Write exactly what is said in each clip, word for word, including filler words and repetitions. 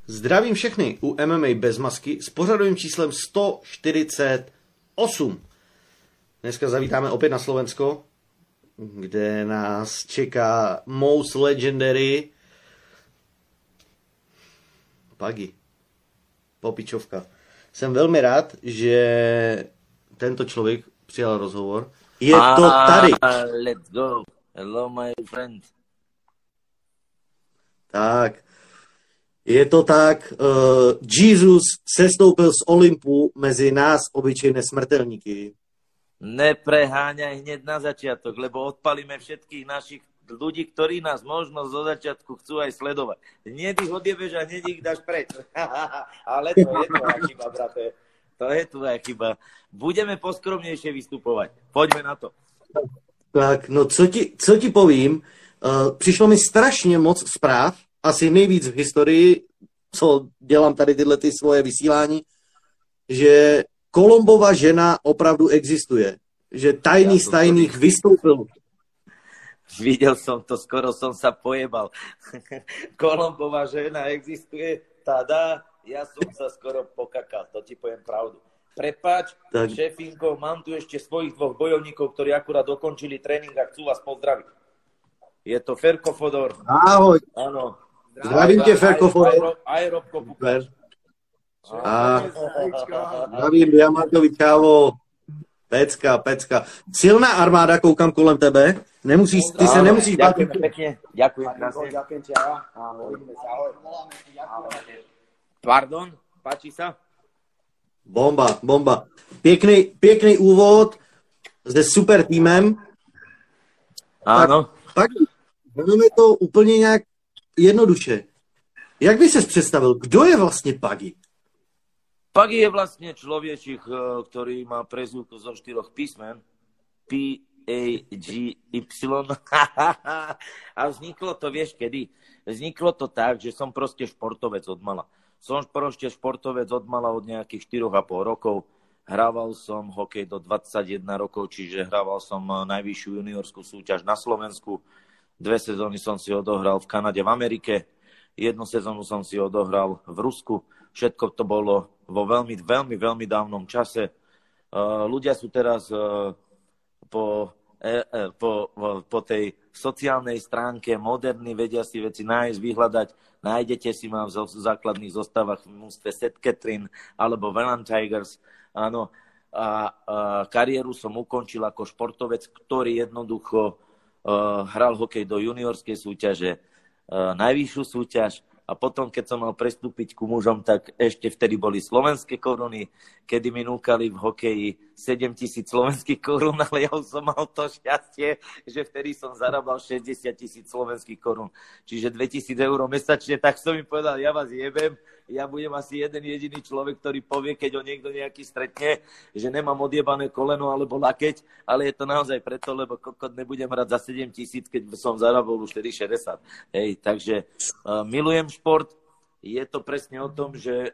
Zdravím všechny u M M A bez masky s pořadovým číslem sto čtyřicet osm. Dneska zavítáme opět na Slovensko, kde nás čeká most legendary Pagi. Popičovka. Jsem velmi rád, že tento člověk přijal rozhovor. Je to tady. Let's go. Hello, my friend. Tak. Je to tak, uh, Jesus sestoupil z Olympu mezi nás, obyčejné smrtelníky. Nepreháňaj hneď na začiatok, lebo odpalíme všetkých našich ľudí, ktorí nás možno zo začiatku chcú aj sledovať. Hneď ich odjebeš a hneď ich dáš preč. Ale to je tvoja chyba, brate. To je tvoja chyba. Budeme poskromnejšie vystupovať. Poďme na to. Tak, no co ti, co ti povím, uh, přišlo mi strašně moc zpráv, asi nejvíc v historii, co dělám tady tyhle ty svoje vysílání, že Kolombova žena opravdu existuje. Že tajný z tajných vystoupil. Videl som to, skoro som sa pojebal. Kolombova žena existuje, tada, ja som sa skoro pokakal, to ti poviem pravdu. Prepáč, tak. Šefinko, mám tu ešte svojich dvoch bojovníkov, ktorí akurát dokončili tréning a chcú vás pozdraviť. Je to Ferko Fodor. Ahoj. Áno. Zdravím tě, Ferko Fodor. Aj Robko Pukáč. A zdravím Diamantovi, čávo. Pecka, pecka. Silná armáda, koukám kolem tebe. Nemusíš, ty se nemusíš bát. Ďakujem pekne. Ďakujem krásne. Ďakujem ti, ahoj. Ahoj. Pardon, páči sa? Bomba, bomba. Pěkný, pěkný úvod se super týmem. Áno. Tak, vezmeme to úplně nějak jednoduše. Jak by ses představil, kdo je vlastně Pagi? Pagi je vlastne človečik, ktorý má prezývku zo štyroch písmen. P A G Y. A vzniklo to, vieš kedy? Vzniklo to tak, že som proste športovec od mala. Som proste športovec od mala od nejakých štyri a pol rokov. Hrával som hokej do dvadsaťjeden rokov, čiže hrával som najvyššiu juniorskú súťaž na Slovensku. Dve sezóny som si odohral v Kanade, v Amerike. Jednu sezónu som si odohral v Rusku. Všetko to bolo vo veľmi, veľmi, veľmi dávnom čase. Uh, ľudia sú teraz uh, po, eh, eh, po, po tej sociálnej stránke moderní, vedia si veci nájsť, vyhľadať. Nájdete si ma v základných zostavách v mústve Saint Catherine alebo Welland Tigers. Áno. A, a kariéru som ukončil ako športovec, ktorý jednoducho uh, hral hokej do juniorskej súťaže, uh, najvyššiu súťaž. A potom, keď som mal prestúpiť ku mužom, tak ešte vtedy boli slovenské koruny, kedy mi núkali v hokeji sedemtisíc slovenských korún, ale ja už som mal to šťastie, že vtedy som zarábal šesťdesiat tisíc slovenských korún. Čiže dvetisíc eur mesačne, tak som mi povedal, ja vás jebem, ja budem asi jeden jediný človek, ktorý povie, keď ho niekto nejaký stretne, že nemám odjebané koleno alebo lakeť, ale je to naozaj preto, lebo kokot nebudem hrať za sedem tisíc, keď som zarábal už vtedy šesťdesiat. Hej, takže uh, milujem šport. Je to presne o tom, že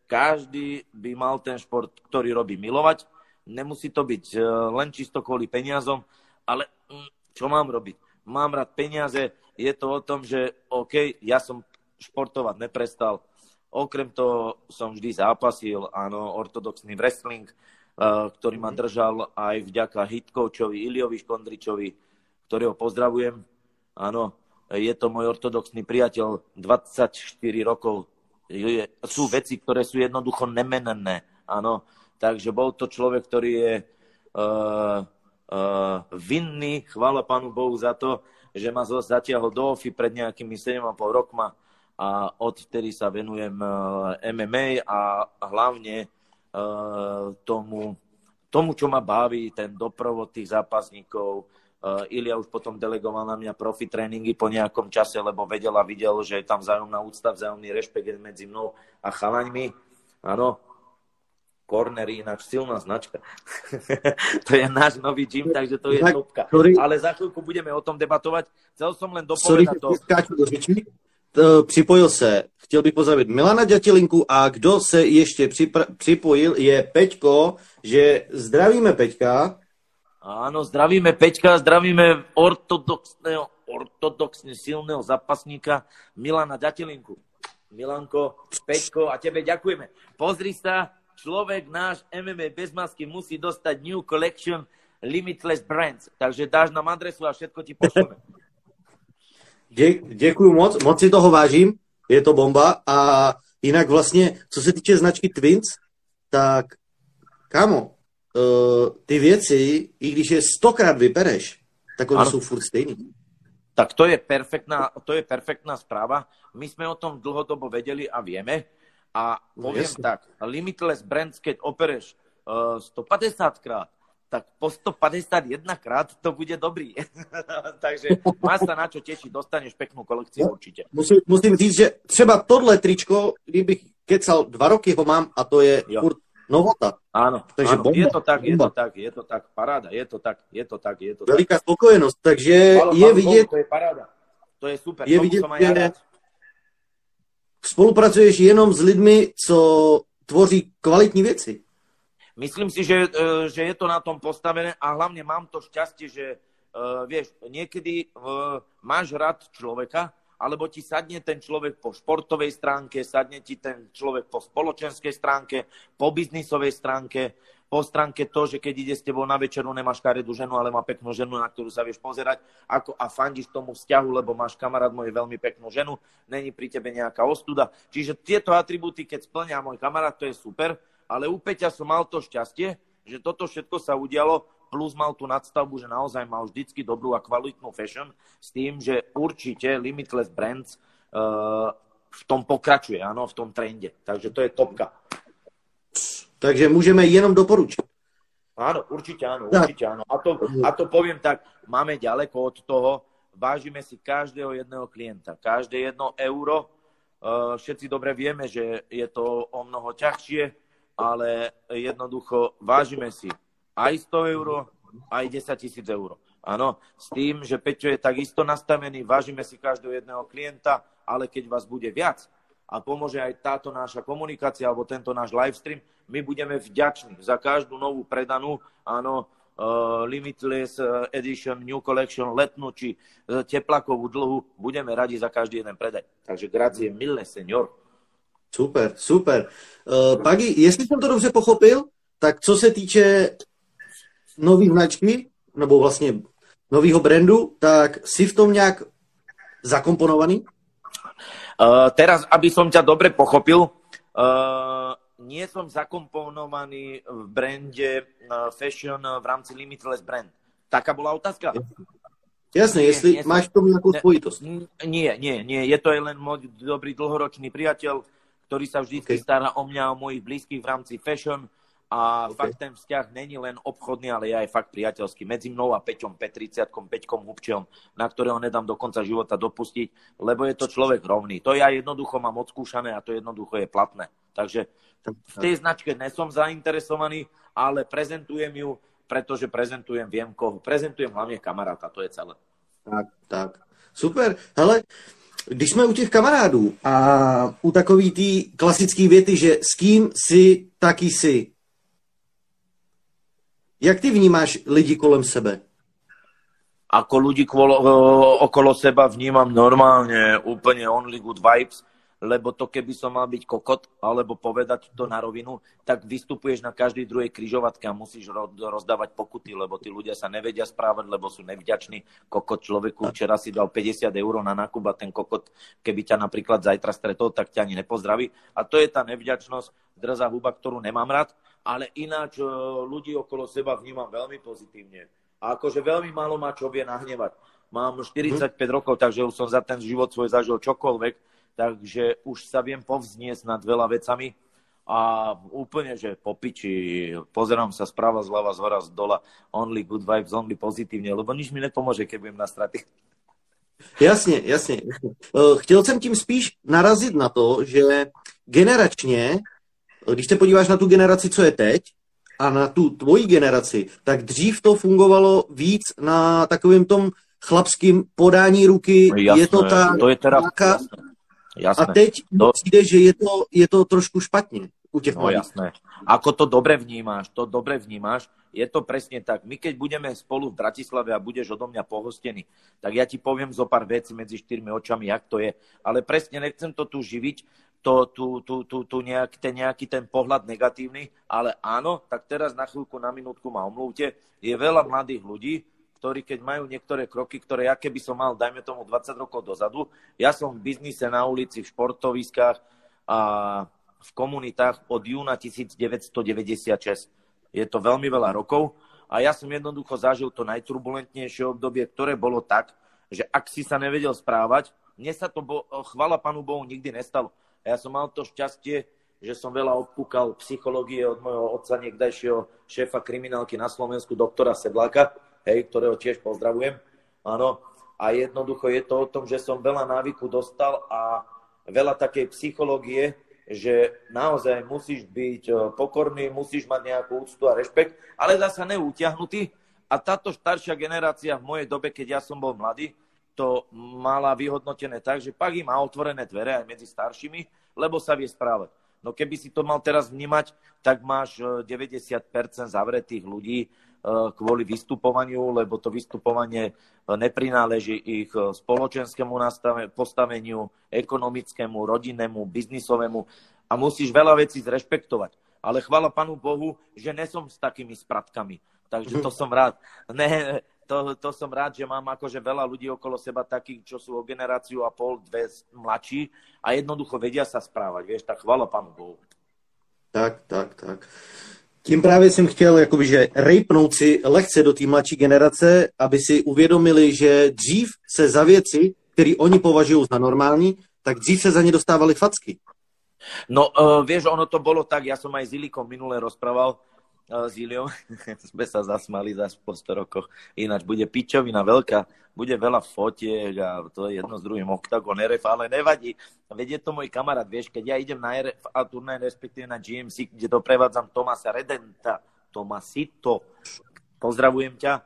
každý by mal ten šport, ktorý robí, milovať. Nemusí to byť uh, len čisto kvôli peniazom, ale um, čo mám robiť? Mám rád peniaze, je to o tom, že OK, ja som športovať neprestal. Okrem toho som vždy zápasil, áno, ortodoxný wrestling, uh, ktorý ma držal aj vďaka hitcoachovi Iliovi Škondričovi, ktorého pozdravujem. Áno, je to môj ortodoxný priateľ, dvadsaťštyri rokov. Je, sú veci, ktoré sú jednoducho nemenné, áno. Takže bol to človek, ktorý je uh, uh, vinný, chvála Pánu Bohu za to, že ma zatiahol do O F I pred nejakými sedem a pol rokma. A odtedy sa venujem M M A a hlavne tomu, tomu, čo ma baví, ten doprovod tých zápasníkov. Ilia už potom delegoval na mňa profi tréningy po nejakom čase, lebo vedel a videl, že je tam vzájomná úcta, vzájomný rešpekt medzi mnou a chalaňmi. Áno, Cornery, ináč silná značka. To je náš nový gym, takže to je topka. Ale za chvíľku budeme o tom debatovať. Chcel som len dopovedať to... Připojil se, chtěl bych pozdravit Milana Ďatelinku a kdo se ještě připra- připojil je Peťko, že zdravíme Peťka. Áno, zdravíme Peťka, zdravíme ortodoxného, ortodoxne silného zápasníka Milana Ďatelinku. Milanko, Peťko a tebe ďakujeme. Pozri sa, človek náš em em á bez masky musí dostať New Collection Limitless Brands. Takže dáš nám adresu a všetko ti pošleme. Děkuju moc, moc si toho vážím, je to bomba. A jinak vlastně, co se týče značky Twins, tak kámo, uh, ty věci, i když je stokrát vypereš, tak oni jsou furt stejný. Tak to je perfektná, to je perfektná správa. My sme o tom dlhodobo vedeli a vieme. A poviem no, tak, Limitless Brands, keď opereš uh, stopäťdesiat krát, tak po stopäťdesiatjeden krát to bude dobrý. Takže máš sa na čo tešiť, dostaneš peknú kolekciu určite. Musím, musím říct, že třeba tohle tričko, kdybych kecal dva roky ho mám a to je jo. furt novota. Áno, takže áno. je to tak, je to tak, je to tak, paráda, je to tak, je to tak, je to tak. Veliká spokojenosť, takže Halo, je vidět... To je paráda, to je super, je vidět, že spolupracuješ jenom s lidmi, co tvoří kvalitní věci. Myslím si, že, že je to na tom postavené a hlavne mám to šťastie, že uh, vieš, niekedy uh, máš rád človeka, alebo ti sadne ten človek po športovej stránke, sadne ti ten človek po spoločenskej stránke, po biznisovej stránke, po stránke to, že keď ide s tebou na večeru, nemáš karedú ženu, ale má peknú ženu, na ktorú sa vieš pozerať ako, a fandíš tomu vzťahu, lebo máš kamarát môj veľmi peknú ženu, není pri tebe nejaká ostuda. Čiže tieto atribúty, keď splňa môj kamarát, to je super, ale u Peťa som mal to šťastie, že toto všetko sa udialo, plus mal tú nadstavbu, že naozaj mal vždycky dobrú a kvalitnú fashion, s tým, že určite Limitless Brands uh, v tom pokračuje, áno, v tom trende. Takže to je topka. Takže môžeme jenom doporučiť. Áno, určite áno, určite áno. A to, a to poviem tak, máme ďaleko od toho, vážime si každého jedného klienta, každé jedno euro. Uh, všetci dobre vieme, že je to o mnoho ťažšie, ale jednoducho vážime si aj sto eur, aj desaťtisíc eur. Áno, s tým, že Peťo je takisto nastavený, vážime si každého jedného klienta, ale keď vás bude viac a pomôže aj táto naša komunikácia alebo tento náš livestream, my budeme vďační za každú novú predanú, áno, uh, Limitless Edition, New Collection, letnú či uh, teplakovú dlhu, budeme radi za každý jeden predaj. Takže grazie mille, senior. Super, super. Uh, Pagi, jestli jsem to dobře pochopil, tak co se týče nový značky, nebo vlastně novýho brandu, tak si v tom nějak zakomponovaný? Uh, teraz, aby som ťa dobre pochopil, uh, nie som zakomponovaný v brande uh, fashion v rámci Limitless Brand. Taká bola otázka? Jasne, jestli nie, máš v tom nejakú spojitosť. Nie, nie, nie. Je to aj len môj dobrý dlhoročný priateľ, ktorý sa vždy okay. stará o mňa, o mojich blízkych v rámci fashion. A okay. fakt ten vzťah není len obchodný, ale je aj fakt priateľský. Medzi mnou a Peťom Petriciatkom, Peťkom Hubčom, na ktorého nedám do konca života dopustiť, lebo je to človek rovný. To ja jednoducho mám odskúšané a to jednoducho je platné. Takže v tej značke nesom zainteresovaný, ale prezentujem ju, pretože prezentujem, viem koho. Prezentujem hlavne kamaráta, to je celé. Tak, tak. Super. Hele, když jsme u těch kamarádů a u takový tý klasický věty, že s kým si, taky si. Jak ty vnímáš lidi kolem sebe? Ako ľudí kvolo, okolo seba vnímam normálne, úplne only good vibes, lebo to keby som mal byť kokot, alebo povedať to na rovinu, tak vystupuješ na každej druhej križovatke a musíš rozdávať pokuty, lebo tí ľudia sa nevedia správať, lebo sú nevďační. Kokot človeku včera si dal päťdesiat eur na nákup a ten kokot, keby ťa napríklad zajtra stretol, tak ťa ani nepozdraví. A to je tá nevďačnosť, drzá huba, ktorú nemám rád, ale ináč ľudí okolo seba vnímam veľmi pozitívne. A akože veľmi málo ma čo vie nahnevať. Mám štyridsaťpäť hmm. rokov, takže už som za ten život svoj zažil čokoľvek, takže už sa viem povzniesť nad veľa vecami a úplne, že po piči, pozerám sa správa, zľava, zhora, z dola, only good vibes, only pozitívne, lebo nič mi nepomôže, keď budem na straty. Jasně, jasně. Chtěl jsem tím spíš narazit na to, že generačně, když se podíváš na tu generaci, co je teď, a na tu tvoji generaci, tak dřív to fungovalo víc na takovém tom chlapským podání ruky. Jasné, je to ta to je teda, nějaká... jasné. Jasné. A teď to... přijde, že je to, je to trošku špatně. u těch No jasné. Ako to dobre vnímáš, to dobre vnímáš, je to presne tak. My keď budeme spolu v Bratislave a budeš odo mňa pohostený, tak ja ti poviem zo pár vecí medzi štyrmi očami, jak to je. Ale presne nechcem to tu živiť, to, tu, tu, tu, tu nejaký, ten, nejaký ten pohľad negatívny, ale áno, tak teraz na chvíľku, na minútku ma omlúvte, je veľa mladých ľudí, ktorí keď majú niektoré kroky, ktoré ja keby som mal, dajme tomu dvadsať rokov dozadu, ja som v biznise na ulici, v športoviskách a v komunitách od júna devätnásťstodeväťdesiatšesť. Je to veľmi veľa rokov a ja som jednoducho zažil to najturbulentnejšie obdobie, ktoré bolo tak, že ak si sa nevedel správať, mne sa to, bo, chvala Pánu Bohu, nikdy nestalo. A ja som mal to šťastie, že som veľa obkúkal psychológie od môjho otca, niekdajšieho šéfa kriminálky na Slovensku, doktora Sedláka, hej, ktorého tiež pozdravujem. Áno. A jednoducho je to o tom, že som veľa návyku dostal a veľa takej psychológie, že naozaj musíš byť pokorný, musíš mať nejakú úctu a rešpekt, ale zasa neutiahnutý. A táto staršia generácia v mojej dobe, keď ja som bol mladý, to mala vyhodnotené tak, že pak im má otvorené dvere aj medzi staršími, lebo sa vie správať. No keby si to mal teraz vnímať, tak máš deväťdesiat percent zavretých ľudí kvôli vystupovaniu, lebo to vystupovanie neprináleží ich spoločenskému postaveniu, ekonomickému, rodinnému, biznisovému a musíš veľa vecí zrešpektovať. Ale chvála Pánu Bohu, že nesom s takými spratkami. Takže to som rád. Ne, to, to som rád, že mám akože veľa ľudí okolo seba takých, čo sú o generáciu a pol, dve mladší a jednoducho vedia sa správať. Vieš, tak chvála Pánu Bohu. Tak, tak, tak. Tím právě jsem chtěl jakoby, že rejpnout si lehce do té mladší generace, aby si uvědomili, že dřív se za věci, které oni považují za normální, tak dřív se za ně dostávali facky. No, uh, vieš, ono to bolo tak, ja som aj s Ilikom minule rozprával, uh, s Iliom, sme sa zasmali zase po sto rokoch, ináč bude pičovina veľká, bude veľa fotiek a to je jedno s druhým Octagon er ef, ale nevadí. Veď je to môj kamarát, vieš, keď ja idem na er ef a turnaj, respektíve na gé em cé, kde doprevádzam Tomasa Redenta, Tomasito, pozdravujem ťa,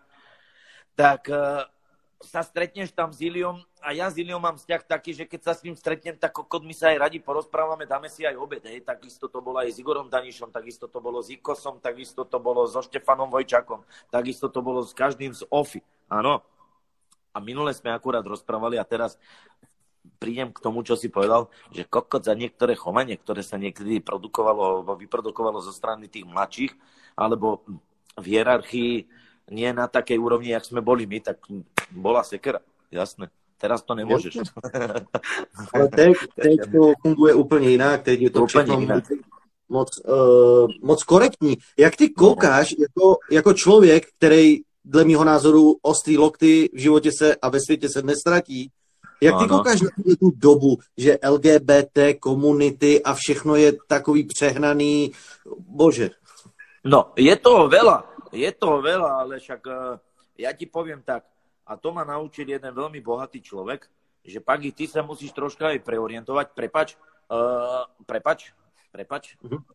tak uh, sa stretneš tam s Iliom a ja s Iliom mám vzťah taký, že keď sa s ním stretnem, tak kokot my sa aj radi porozprávame, dáme si aj obed, hej, takisto to bolo aj s Igorom Danišom, takisto to bolo s Ikosom, takisto to bolo so Štefanom Vojčakom, takisto to bolo s každým z Ofy, áno. A minule sme akurát rozprávali a teraz prídem k tomu, čo si povedal, že kokot za niektoré chovanie, ktoré sa niekedy produkovalo, alebo vyprodukovalo zo strany tých mladších, alebo v hierarchii nie na takej úrovni, jak sme boli my, tak bola sekera, jasné. Teraz to nemôžeš. Ale teď, teď to funguje úplně jinak, teď je to všechno moc, uh, moc korektní. Jak ty koukáš no. jako, jako člověk, který dle mýho názoru ostrý lokty v životě se a ve světě se nestratí. Jak ty ano. koukáš na tu dobu, že el gé bé té komunity a všechno je takový přehnaný, bože. No, je toho veľa, je toho veľa, ale však uh, ja ti poviem tak, a to ma naučil jeden veľmi bohatý človek, že pak i ty sa musíš troška aj preorientovať, prepač, uh, prepač, prepač. Uh-huh.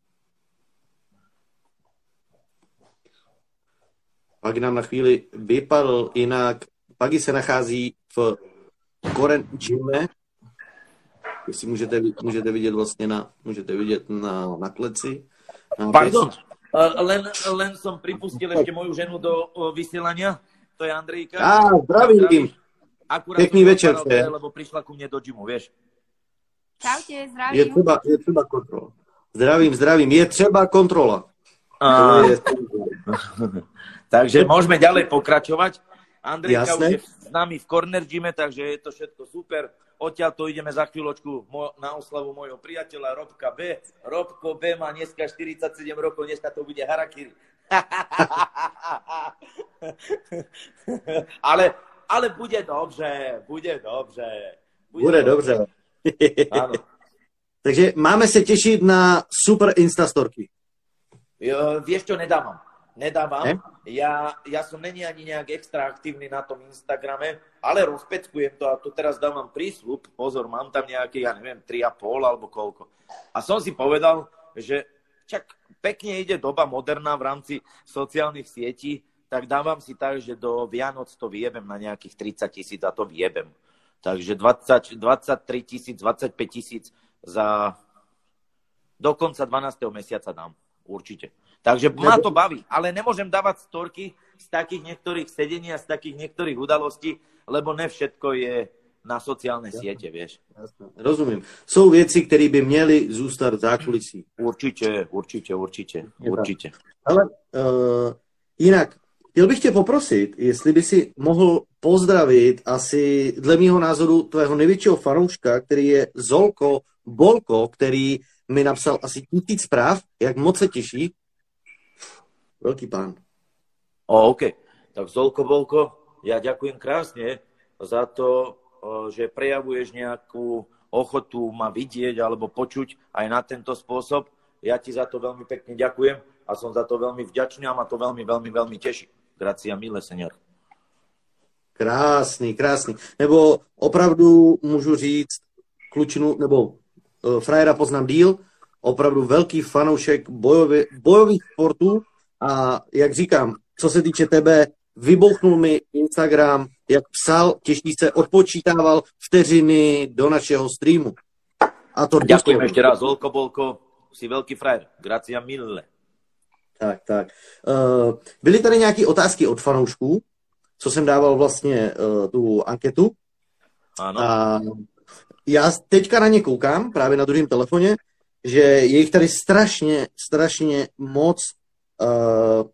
Pak nám na chvíli vypadl, jinak Pagi se nachází v Koren Gyme, jestli můžete, můžete vidět vlastně na, můžete vidět na, na kleci. Na Pardon, uh, len, len som pripustil ešte moju ženu do uh, vysielania, to je Andrejka. Á, zdravím. Akurát pekný večer. Paral, lebo prišla ku mne do gymu, vieš. Čaute, zdravím. Je třeba, je třeba kontrola. Zdravím, zdravím. Je třeba kontrola. A... Je... Takže môžeme ďalej pokračovať. Andrejka Jasne. Už je s nami v Corner Gyme, takže je to všetko super. Odtiaľ to ideme za chvíľočku na oslavu môjho priateľa Robka B. Robko B má dneska štyridsaťsedem rokov, dneska to bude harakiri. ale, ale bude dobře, bude dobře. Bude, bude dobře. Áno. Takže máme se těšit na super Instastorky. Jo, vieš čo, nedávam. Nedávam. Ne? Ja, ja som není ani nejak extra aktívny na tom Instagrame, ale rozpeckujem to a to teraz dávam prísľub. Pozor, mám tam nejaké, ja neviem, tri a pol alebo koľko. A som si povedal, že čak pekne ide doba moderná v rámci sociálnych sietí, tak dávam si tak, že do Vianoc to vyjebem na nejakých tridsať tisíc a to vyjebem. Takže dvadsať, dvadsaťtri tisíc, dvadsaťpäť tisíc za Do konca dvanásteho mesiaca dám. Určite. Takže ma to baví. Ale nemôžem dávať storky z takých niektorých sedení a z takých niektorých udalostí, lebo ne všetko je na sociálne Jasne. siete, vieš. Jasne. Rozumím. Sú věci, které by měly zůstat v zákulisí. Určitě, určitě, určitě, určitě. Ale uh, jinak, chtěl bych tě poprosit, jestli by si mohl pozdravit asi, dle mýho názoru, tvého největšího fanouška, který je Zolko Bolko, který mi napsal asi tisíc zpráv, jak moc se těší. Velký pán. O, OK. Tak Zolko Bolko, ja ďakujem krásne za to, že prejavuješ nejakú ochotu ma vidieť alebo počuť aj na tento spôsob. Ja ti za to veľmi pekne ďakujem a som za to veľmi vďačný a ma to veľmi, veľmi, veľmi teší. Gracia mille, senior. Krásný, krásný. Nebo opravdu můžu říct klučinu, nebo uh, frajera poznám díl, opravdu velký fanoušek bojově, bojových sportů a jak říkám, co se týče tebe, vybouchnul mi Instagram, jak psal, těší se, odpočítával vteřiny do našeho streamu. A to ďakujem ešte raz, Zolko Bolko, si veľký frajer. Gracia mille. Tak, tak. Uh, byly tady nějaké otázky od fanoušků, co jsem dával vlastně uh, tu anketu. Ano. A já teďka na ně koukám, právě na druhém telefoně, že je jich tady strašně, strašně moc. Uh,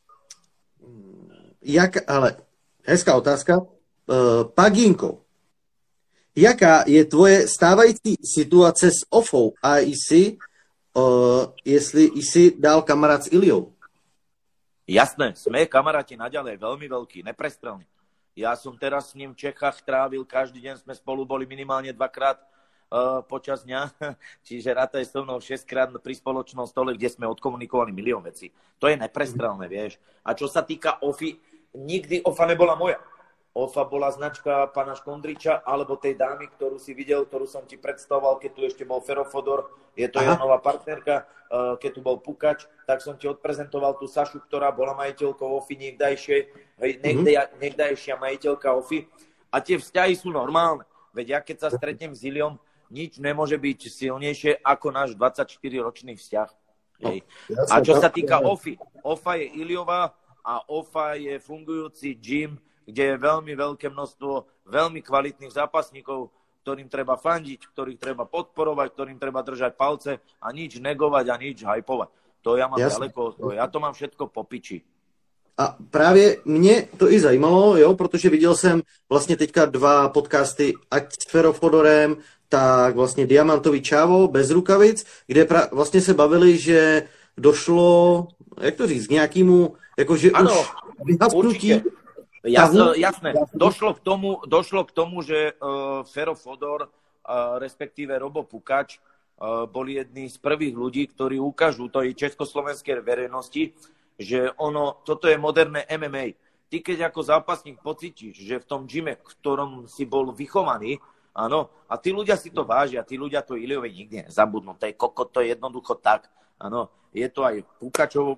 jak, ale hezká otázka. Uh, Pagínko, jaká je tvoje stávající situace s Ofou a jsi, uh, jestli jsi dál kamarád s Iliou? Jasné, sme kamaráti naďalej, veľmi veľký, neprestrelný. Ja som teraz s ním v Čechách trávil, každý deň sme spolu boli minimálne dvakrát uh, počas dňa, čiže rátaj so mnou šesťkrát pri spoločnom stole, kde sme odkomunikovali milión vecí. To je neprestrelné, vieš. A čo sa týka Ofy, nikdy Ofa nebola moja. Ofa bola značka pána Škondriča alebo tej dámy, ktorú si videl, ktorú som ti predstavoval, keď tu ešte bol Fero Fodor, je to jeho nová partnerka, keď tu bol Pukač, tak som ti odprezentoval tú Sašu, ktorá bola majiteľkou Ofy niekdajšej, niekdajšia majiteľka Ofy. A tie vzťahy sú normálne. Veď ja keď sa stretnem s Iliom, nič nemôže byť silnejšie ako náš dvadsaťštyriročný vzťah. Hej. A čo sa týka Ofy, Ofa je Iliová a Ofa je fungujúci gym, kde je veľmi veľké množstvo veľmi kvalitných zápasníkov, ktorým treba fandiť, ktorých treba podporovať, ktorým treba držať palce a nič negovať a nič hypovať. To ja mám Jasne. ďaleko od toho. Ja to mám všetko po piči. A právě mě to i zajímalo, jo, protože viděl jsem vlastně teďka dva podcasty, ať s Fero Fodorem, tak vlastně Diamantový Čávo bez rukavic, kde pra- vlastně se bavili, že došlo, jak to říct, k nějakému, jakože ano, už vyhasknutí. Jasné, jasné. Došlo k tomu, došlo k tomu že uh, Fero Fodor, uh, respektíve Robo Pukač, uh, boli jedni z prvých ľudí, ktorí ukážu tej československej verejnosti, že ono, toto je moderné em em á. Ty, keď ako zápasník pocítiš, že v tom gyme, v ktorom si bol vychovaný, áno, a tí ľudia si to vážia, tí ľudia to Iliovi nikdy nezabudnú. To je kokot, to je jednoducho tak. Áno, je to aj Pukačov,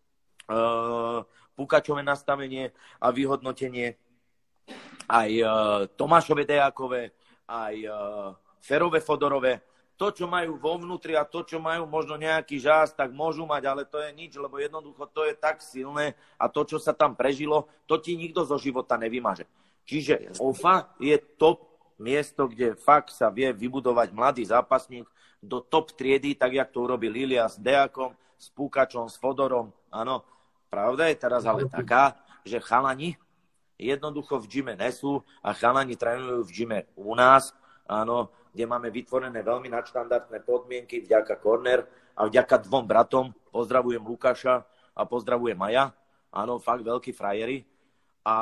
uh, Pukačové nastavenie a vyhodnotenie, aj uh, Tomášove Dejakové, aj uh, Ferove Fodorové. To, čo majú vo vnútri a to, čo majú možno nejaký žás, tak môžu mať, ale to je nič, lebo jednoducho to je tak silné a to, čo sa tam prežilo, to ti nikto zo života nevymaže. Čiže Ofa je top miesto, kde fakt sa vie vybudovať mladý zápasník do top triedy, tak jak to urobil Ilia s Dejakom, s Pukačom, s Fodorom, áno. Pravda je teraz ale taká, že chalani jednoducho v gyme nesú a chalani trénujú v gyme u nás, áno, kde máme vytvorené veľmi nadštandardné podmienky vďaka Corner a vďaka dvom bratom. Pozdravujem Lukáša a pozdravujem Maja. Áno, fakt veľkí frajeri. A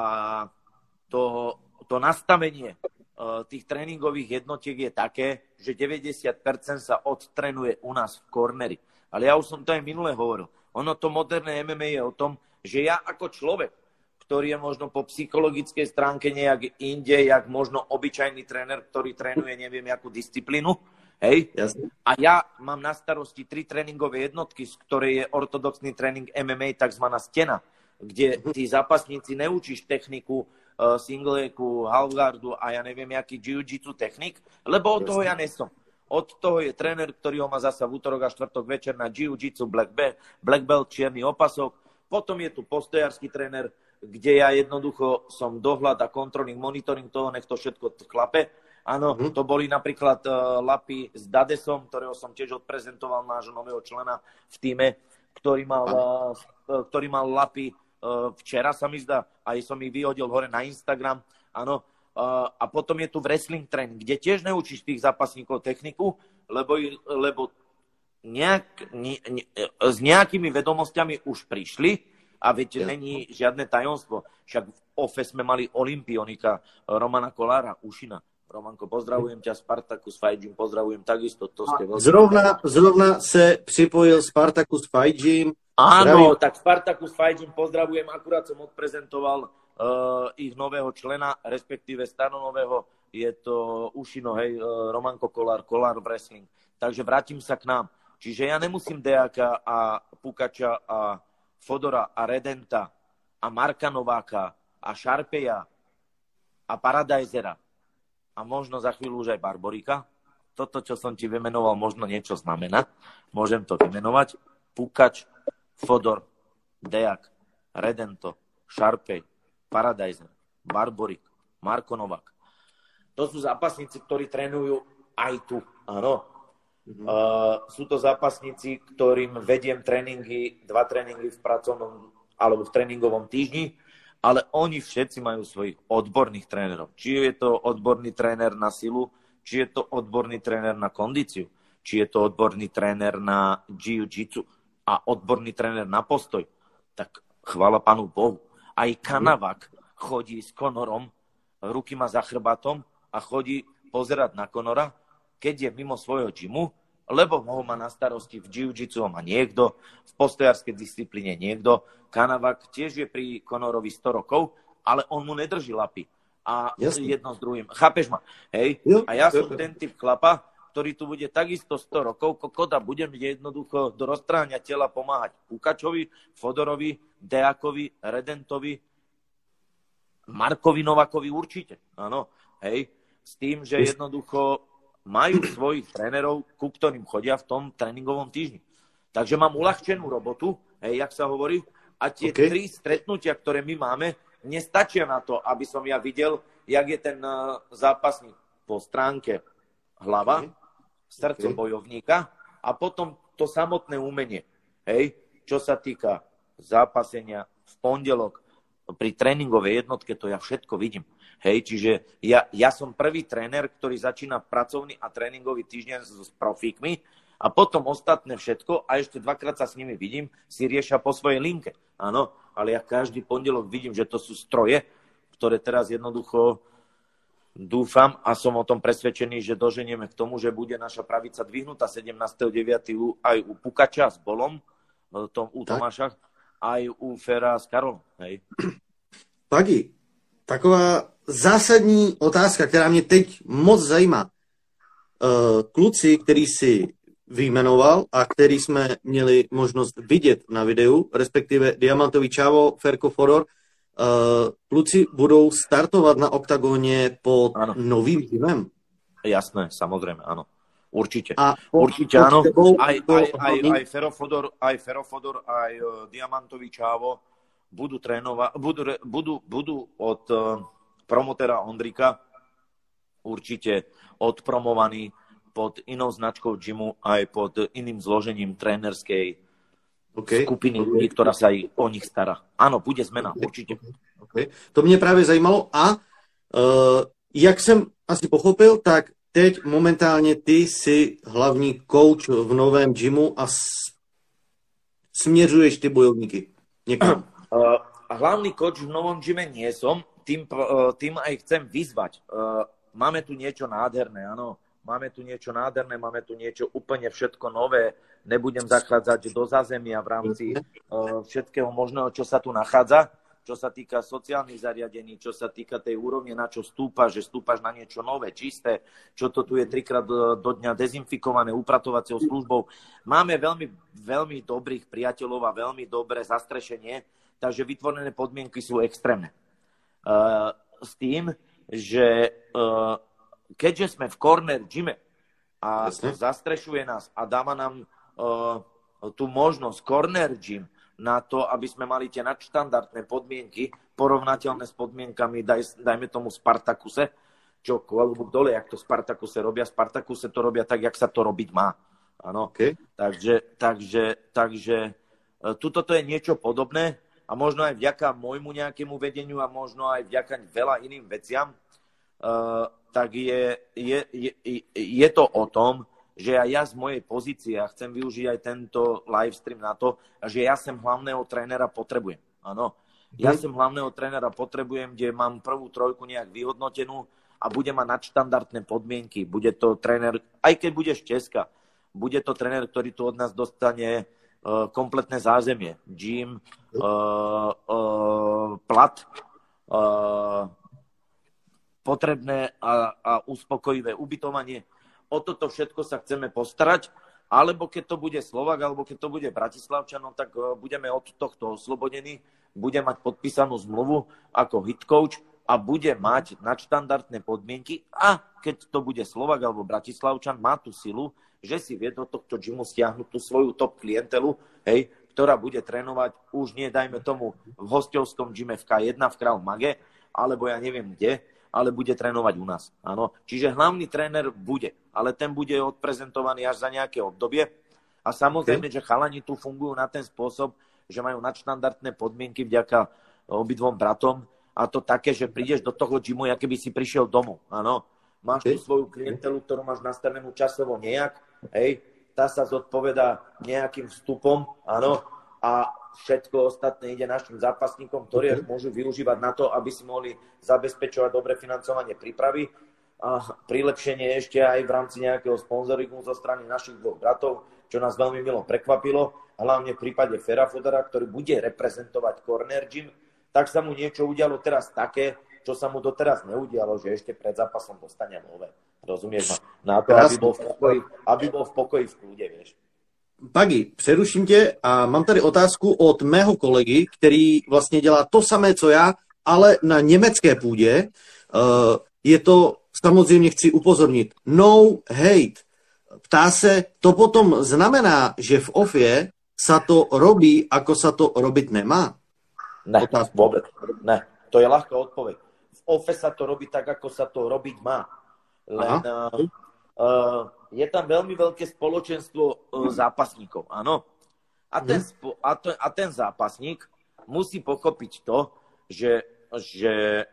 to, to nastavenie uh, tých tréningových jednotiek je také, že deväťdesiat percent sa odtrenuje u nás v Corneri. Ale ja už som to aj minule hovoril. Ono to moderné em em á je o tom, že ja ako človek, ktorý je možno po psychologickej stránke nejak inde, jak možno obyčajný tréner, ktorý trénuje neviem jakú disciplínu, hej? Jasne. A ja mám na starosti tri tréningové jednotky, z ktorej je ortodoxný tréning em em á, takzvaná stena, kde tí zápasníci neučíš techniku uh, singleku, halfguardu a ja neviem jaký jiu-jitsu technik, lebo od toho ja nesom. Od toho je tréner, ktorý ho má zasa v útorok a štvrtok večer na jiu-jitsu black belt, black belt, čierny opasok. Potom je tu postojársky tréner, kde ja jednoducho som dohľad a kontrolný monitoring toho, nech to všetko klape. Áno, mm. to boli napríklad uh, lapy s Dadesom, ktorého som tiež odprezentoval, nášho nového člena v týme, ktorý mal, uh, ktorý mal lapy uh, včera, sa mi zdá, aj som ich vyhodil hore na Instagram. Áno, uh, a potom je tu wrestling tréning, kde tiež neučíš tých zápasníkov techniku, lebo, lebo nejak, ne, ne, s nejakými vedomosťami už prišli. A veď není žiadne tajomstvo. Však v ó ef e sme mali olympionika Romana Kolára, Ušina. Romanko, pozdravujem ťa, Spartacus Fight Gym, pozdravujem takisto. To ste zrovna, zrovna se připojil Spartacus Fight Gym. Áno, tak Spartacus Fight Gym pozdravujem, akurát som odprezentoval uh, ich nového člena, respektíve stanonového, je to Ušino, hej, uh, Romanko Kolár, Kolár Wrestling. Takže vrátim sa k nám. Čiže ja nemusím Deáka a Pukača a Fodora a Redenta a Marka Nováka a Šarpeja a Paradajzera a možno za chvíľu už aj Barborika. Toto, čo som ti vymenoval, možno niečo znamená. Môžem to vymenovať. Pukač, Fodor, Deák, Redento, Šarpej, Paradajzer, Barborik, Marko Novák. To sú zápasníci, ktorí trénujú aj tu. Áno. Mm-hmm. Uh, sú to zápasníci, ktorým vediem tréningy, dva tréningy v pracovnom alebo v tréningovom týždni, ale oni všetci majú svojich odborných trénerov. Či je to odborný tréner na silu, či je to odborný tréner na kondíciu, či je to odborný tréner na jiu-jitsu a odborný tréner na postoj. Tak chvála Pánu Bohu. Aj Kanavak chodí s Conorom, ruky má za chrbátom a chodí pozerať na Conora, keď je mimo svojho gymu, lebo ho má na starosti v jiu-jitsu, ho má niekto, v postojárskej disciplíne niekto. Kanavak tiež je pri Conorovi sto rokov, ale on mu nedrží lapy. A Jasne. jedno s druhým. Chápeš ma? Hej? Jo, a ja jo, som jo. ten typ chlapa, ktorý tu bude takisto sto rokov, kokoda budem jednoducho do roztráňa tela pomáhať Pukačovi, Fodorovi, Deákovi, Redentovi, Markovi Novákovi určite. Áno, hej? S tým, že jednoducho majú svojich trénerov, ku ktorým chodia v tom tréningovom týždni. Takže mám uľahčenú robotu, hej, jak sa hovorí, a tie okay. tri stretnutia, ktoré my máme, nestačia na to, aby som ja videl, jak je ten uh, zápasník po stránke hlava, okay. srdce okay. bojovníka a potom to samotné umenie. Hej, čo sa týka zápasenia v pondelok pri tréningovej jednotke, to ja všetko vidím. Hej, čiže ja, ja som prvý tréner, ktorý začína pracovný a tréningový týždeň s, s profíkmi a potom ostatné všetko a ešte dvakrát sa s nimi vidím, si riešia po svojej linke. Áno, ale ja každý pondelok vidím, že to sú stroje, ktoré teraz jednoducho dúfam a som o tom presvedčený, že doženieme k tomu, že bude naša pravica dvihnutá sedemnásteho deviateho aj u Pukača s Bolom, tom, u Tomáša, aj u Fera s Karolom. Hej. Pagi, taková zásadní otázka, která mě teď moc zajímá. Kluci, který si vyjmenoval a který jsme měli možnost vidět na videu, respektive Diamantový Čávo, Ferko Fodor, kluci budou startovat na OKTAGONě pod ano. novým týmem? Jasné, samozrejme, áno. Určite. A Určite áno. Aj, aj, aj, aj Fero Fodor, aj Fero Fodor, aj Diamantový Čávo budú trénovať, budú, budú, budú od promotera Ondrika určite odpromovaní pod inou značkou gymu aj pod iným zložením trénerskej okay. skupiny ľudí, ktorá sa aj o nich stará. Áno, bude zmena, okay. určite. Okay. To mě právě zajímalo a uh, jak jsem asi pochopil, tak teď momentálně ty jsi hlavní coach v novém gymu a s- směřuješ ty bojovníky někam. Uh, hlavný coach v novom gyme nie som, tým, uh, tým aj chcem vyzvať. Uh, máme tu niečo nádherné, áno. Máme tu niečo nádherné, máme tu niečo úplne všetko nové. Nebudem zachádzať do zázemia v rámci uh, všetkého možného, čo sa tu nachádza, čo sa týka sociálnych zariadení, čo sa týka tej úrovne, na čo stúpaš, že stúpaš na niečo nové, čisté, čo to tu je trikrát do, do dňa dezinfikované upratovacou službou. Máme veľmi, veľmi dobrých priateľov a veľmi dobré zastrešenie, takže vytvorené podmienky sú extrémne. Uh, s tým, že uh, keďže sme v corner gyme, a Jasne. zastrešuje nás a dáva nám uh, tú možnosť, corner gym, na to, aby sme mali tie nadštandardné podmienky, porovnateľné s podmienkami, daj, dajme tomu Spartakuse, čo klobúk dole, jak to Spartakuse robia. Spartakuse to robia tak, jak sa to robiť má. Áno. Okay. Takže, takže, takže tuto to je niečo podobné a možno aj vďaka môjmu nejakému vedeniu a možno aj vďaka veľa iným veciam, uh, tak je, je, je, je to o tom, že aj ja z mojej pozície, a chcem využiť aj tento live stream na to, že ja sem hlavného trénera potrebujem. Áno. Ja sem hlavného trénera potrebujem, kde mám prvú trojku nejak vyhodnotenú a bude mať nadštandardné podmienky. Bude to tréner, aj keď budeš Česka, bude to tréner, ktorý tu od nás dostane uh, kompletné zázemie. Gym, uh, uh, plat, uh, potrebné a, a uspokojivé ubytovanie. O toto všetko sa chceme postarať, alebo keď to bude Slovak, alebo keď to bude Bratislavčan, no tak budeme od tohto oslobodení, bude mať podpísanú zmluvu ako hit coach a bude mať nadštandardné podmienky a keď to bude Slovak alebo Bratislavčan, má tú silu, že si vie do tohto gymu stiahnuť tú svoju top klientelu, hej, ktorá bude trénovať už nie, dajme tomu, v hostovskom gyme v ká jedna v Krav Mage, alebo ja neviem kde, ale bude trénovať u nás. Áno. Čiže hlavný tréner bude, ale ten bude odprezentovaný až za nejaké obdobie. A samozrejme, okay. že chalani tu fungujú na ten spôsob, že majú nadštandardné podmienky vďaka obidvom bratom. A to také, že prídeš do toho gymu, aké by si prišiel domov. Áno. Máš okay. tu svoju klientelu, ktorú máš nastavenú časovo nejak. Hej. Tá sa zodpovedá nejakým vstupom. Áno. A všetko ostatné ide našim zápasníkom, ktorí okay. môžu využívať na to, aby si mohli zabezpečovať dobre financovanie prípravy. A prilepšenie ešte aj v rámci nejakého sponzoringu zo strany našich dvoch bratov, čo nás veľmi milo prekvapilo, hlavne v prípade Fera Fodera, ktorý bude reprezentovať Corner Gym, tak sa mu niečo udialo teraz také, čo sa mu doteraz neudialo, že ešte pred zápasom dostane nové. Rozumieš ma? Na to, aby bol v pokoji, aby bol v pokoji v kľude, vieš. Pagi, přeruším tě a mám tady otázku od mého kolegy, který vlastně dělá to samé, co já, ale na německé půdě. Uh, je to, samozřejmě chci upozornit, no hate. Ptá se, to potom znamená, že v ofie sa to robí, ako sa to robiť nemá? Ne, vôbec. Ne, to je ľahká odpoveď. V ofe sa to robí tak, ako sa to robiť má. Len uh, uh, je tam veľmi veľké spoločenstvo uh, zápasníkov, áno. A ten, spo- a, to, a ten zápasník musí pochopiť to, že, že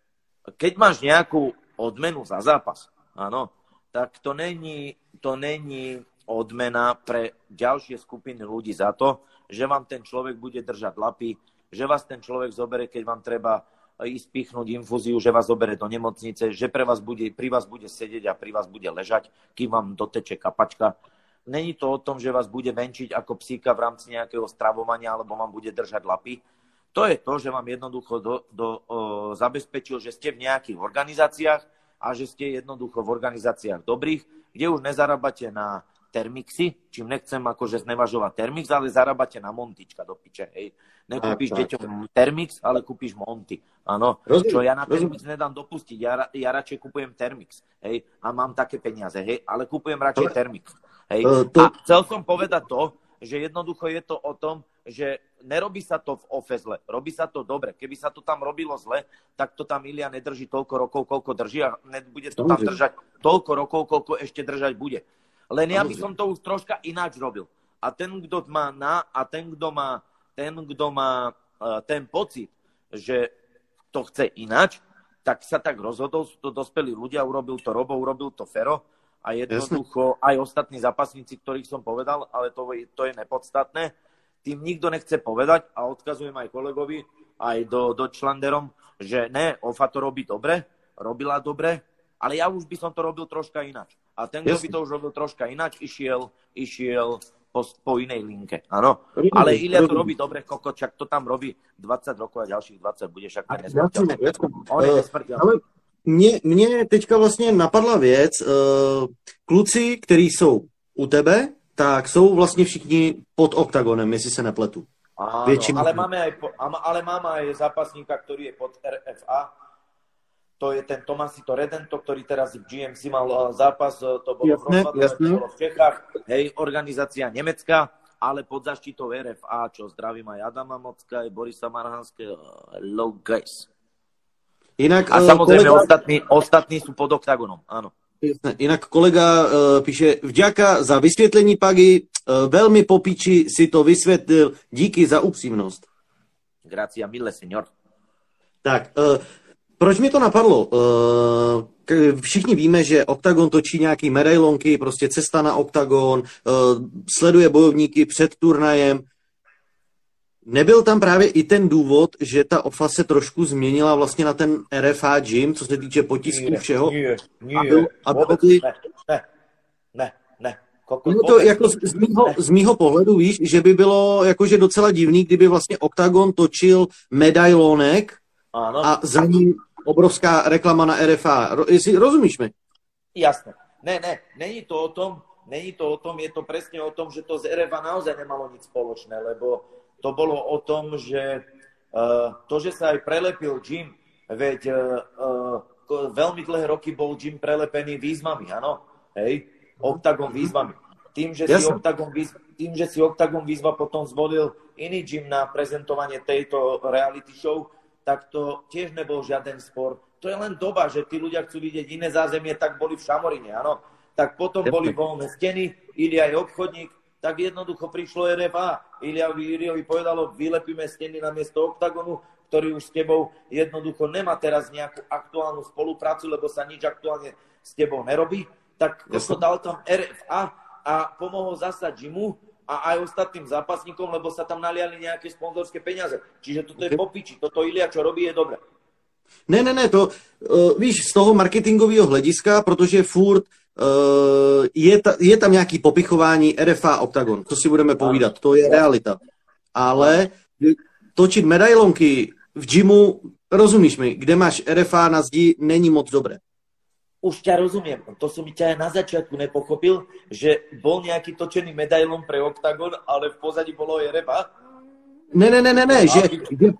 keď máš nejakú odmenu za zápas, áno, tak to není, to není odmena pre ďalšie skupiny ľudí za to, že vám ten človek bude držať lapy, že vás ten človek zobere, keď vám treba ísť pichnúť infúziu, že vás zobere do nemocnice, že pre vás bude, pri vás bude sedieť a pri vás bude ležať, kým vám doteče kapačka. Není to o tom, že vás bude venčiť ako psíka v rámci nejakého stravovania alebo vám bude držať lapy. To je to, že vám jednoducho do, do, o, zabezpečil, že ste v nejakých organizáciách a že ste jednoducho v organizáciách dobrých, kde už nezarábate na termixy, čím nechcem akože znevažovať termix, ale zarábate na montička do piče, hej. Nekúpiš deťom termix, ale kúpiš monty, áno. Čo ja na termix nedám dopustiť, ja, ja radšej kupujem termix, hej, a mám také peniaze, hej, ale kupujem radšej termix, hej. A chcel som povedať to, že jednoducho je to o tom, že nerobí sa to v ofe zle, robí sa to dobre. Keby sa to tam robilo zle, tak to tam Ilia nedrží toľko rokov, koľko drží a nebude to tam držať toľko rokov, koľko ešte držať bude. Len ja by som to už troška ináč robil. A ten, kto má na, a ten, kto má, ten, kto má uh, ten pocit, že to chce ináč, tak sa tak rozhodol, sú to dospelí ľudia, urobil to Robo, urobil to Fero a jednoducho aj ostatní zápasníci, ktorých som povedal, ale to, to je nepodstatné. Tým nikto nechce povedať a odkazujem aj kolegovi, aj do, do Članderom, že ne, Ofa to robí dobre, robila dobre, ale ja už by som to robil troška ináč. A ten, kto by to už robil troška ináč, išiel, išiel po, po inej linke. Áno. Ale Ilia to robí dobre, koko, čak to tam robí dvadsať rokov a ďalších dvadsať bude, však ten nesmrteľný. On je nesmrteľný. Ale mne, mne teďka vlastně napadla věc. Kluci, kteří jsou u tebe, tak jsou vlastně všichni pod oktagonem, jestli se nepletu. Áno, ale máme, aj, ale máme aj zápasníka, ktorý je pod er ef á. to je ten Tomasito Redento, ktorý teraz v G M C mal zápas, to bolo jasné, v Rozvadove, to bolo v Čechách, hej, organizácia nemecká, ale pod zaštitou R F A, čo zdravím aj Adama Mocka, aj Borisa Marhanského, hello guys. Inak, a samozrejme kolega... ostatní, ostatní sú pod oktagonom, áno. Jasné. Inak kolega uh, píše, vďaka za vysvětlení, Pagi, uh, velmi po piči si to vysvětlil, díky za upřímnost. Grazie mille, signor. Tak, uh, proč mi to napadlo? Uh, všichni víme, že Oktagon točí nějaký medailonky, prostě cesta na Oktagon, uh, sleduje bojovníky před turnajem. Nebyl tam právě i ten důvod, že ta O F A se trošku změnila vlastně na ten R F A gym, co se týče potisků všeho? Nie, nie, a byl, a vôbec, byli... ne, ne, ne, ne. Koko, No to jako z, z, mýho, z mýho pohledu, víš, že by bylo jakože docela divný, kdyby vlastně Oktagon točil medailonek Áno. a za ním obrovská reklama na R F A. Ro, jestli rozumíš mi? Jasné. Ne, ne, není to o tom, není to o tom, je to presne o tom, že to z R F A naozaj nemalo nič spoločné, lebo to bolo o tom, že uh, to, že sa aj prelepil gym, veď uh, uh, veľmi dlhé roky bol gym prelepený výzvami, áno? Hej? Oktagon výzvami. Tým, že si Oktagon, výzva, tým, že si Oktagon výzva potom zvolil iný gym na prezentovanie tejto reality show, tak to tiež nebol žiaden spor. To je len doba, že tí ľudia chcú vidieť iné zázemie, tak boli v Šamorine, áno? Tak potom boli voľné steny, Ilia je obchodník, tak jednoducho prišlo R F A. Ilia Iliovi povedalo, vylepíme steny na miesto Oktagonu, ktorý už s tebou jednoducho nemá teraz nejakú aktuálnu spoluprácu, lebo sa nič aktuálne s tebou nerobí. Tak to dal tam R F A a pomohol zasa gymu a aj ostatným zápasníkom, lebo sa tam naliali nejaké sponzorské peniaze. Čiže toto je popiči. Toto Ilia, čo robí, je dobré. Ne, ne, ne, to uh, víš, z toho marketingového hlediska, protože furt Uh, je, ta, je tam nějaký popichování R F A Oktagon, to si budeme povídat, to je realita. Ale točit medailonky v gymu, rozumíš mi, kde máš R F A na zdi, není moc dobré. Už ťa rozumiem, to som mi ťa aj na začiatku nepochopil, že bol nejaký točený medailon pre Oktagon, ale v pozadí bolo R F A? Ne, ne, ne, ne, ne, že...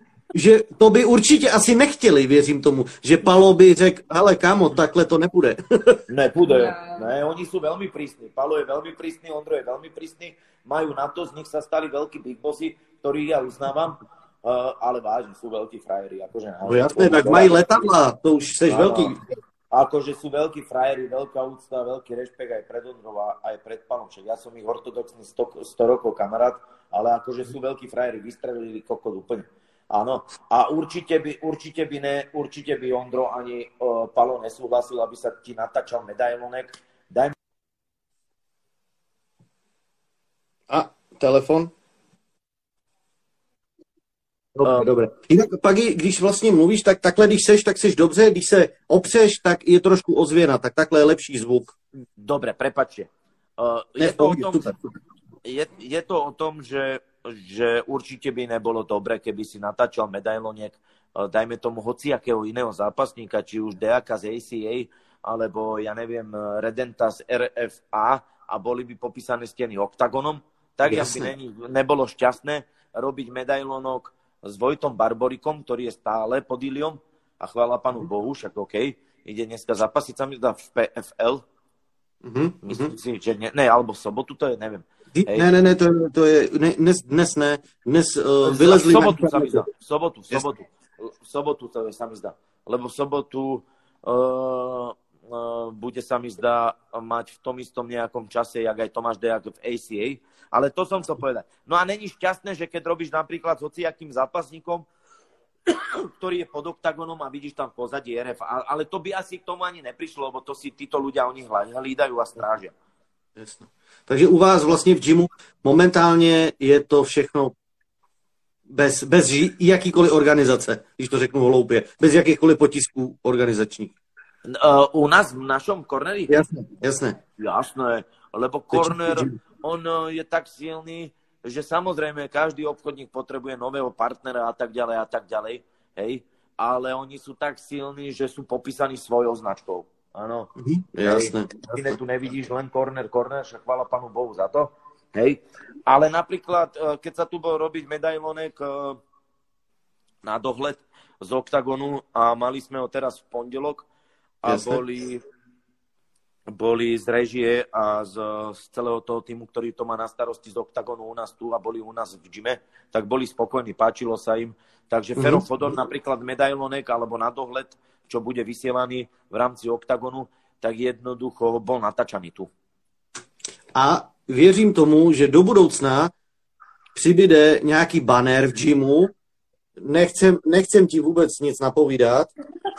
že to by určitě asi nechtěli, věřím tomu, že Palo by řekl, ale kámo, takhle to nepůjde. Nepůjde, ne, oni sú veľmi prísni. Palo je veľmi prísny, Ondro je veľmi prísny, majú na to, z nich sa stali veľkí big bossy, ktorých ja uznávam, uh, ale vážne sú veľkí frajeri. Akože, no jasné, tak mají letadla, to už seš no, veľký. Akože sú veľkí frajeri, veľká úcta, veľký rešpekt aj pred Ondrov, aj pred Palom. Však ja som ich ortodoxný sto rokov kamarát, ale akože sú veľkí frajeri, vystrelili kokot úplne. Áno, a určite by, určite by, ne, určite by Ondro ani uh, Palo nesúhlasil, aby sa ti natáčal medailonek. Daj... A, telefon? Dobre, um, dobre. Jinak pak, když vlastně mluvíš, tak takhle, když seš, tak seš dobře, když se opřeš, tak je trošku ozvěna, tak takhle je lepší zvuk. Dobre, prepáčte. Uh, je, to o tom, je, je to o tom, že že určite by nebolo dobre, keby si natáčal medailoniek, dajme tomu hociakého iného zápasníka, či už Deaka z A C A, alebo ja neviem, Redenta z R F A a boli by popísané steny Oktagonom, tak jak by ne, nebolo šťastné robiť medailonok s Vojtom Barborikom, ktorý je stále pod Iliom a chvála Pánu Bohu, však OK, ide dneska zapasiť sa mi zdá v P F L, mm-hmm. myslím si, že ne, ne, alebo v sobotu, to je, neviem. Hej. Ne, ne, ne, to, to je, ne, dnes, dnes ne, dnes uh, vylezli... V sobotu sa mi zdá, v sobotu, v sobotu, v sobotu to je, sa mi zdá, lebo v sobotu uh, uh, bude sa mi zdá mať v tom istom nejakom čase, jak aj Tomáš Dejak v A C A, ale to som chcel povedať. No a není šťastné, že keď robíš napríklad s hociakým zápasníkom, ktorý je pod Oktagonom a vidíš tam v pozadí R F A, ale to by asi k tomu ani neprišlo, lebo to si títo ľudia oni hlídajú a strážia. Jasno. Takže u vás vlastně v gymu momentálně je to všechno bez, bez jakýkoliv organizace, když to řeknu hloupě, bez jakýchkoliv potisků organizačních. Uh, u nás v našom corneri? Jasné, jasné. Jasné, lebo corner, on je tak silný, že samozrejme každý obchodník potrebuje nového partnera a tak ďalej a tak ďalej, hej, ale oni sú tak silní, že sú popísaní svojou značkou. Áno. Mhm, jasné. Ty tu nevidíš len corner, corner, však chvála Pánu Bohu za to. Hej. Ale napríklad, keď sa tu bol robiť medailonek na dohľad, z Oktagonu a mali sme ho teraz v pondelok a Jasne. boli, boli z režie a z, z celého toho týmu, ktorý to má na starosti z Oktagonu u nás tu a boli u nás v gyme, tak boli spokojní, páčilo sa im. Takže mm-hmm. Fero Fodor napríklad medailonek alebo na dohľad, čo bude vysielaný v rámci Oktagonu, tak jednoducho bol natáčaný tu. A věřím tomu, že do budoucna přibyde nějaký banner v gymu. Nechcem, nechcem ti vůbec nic napovídat.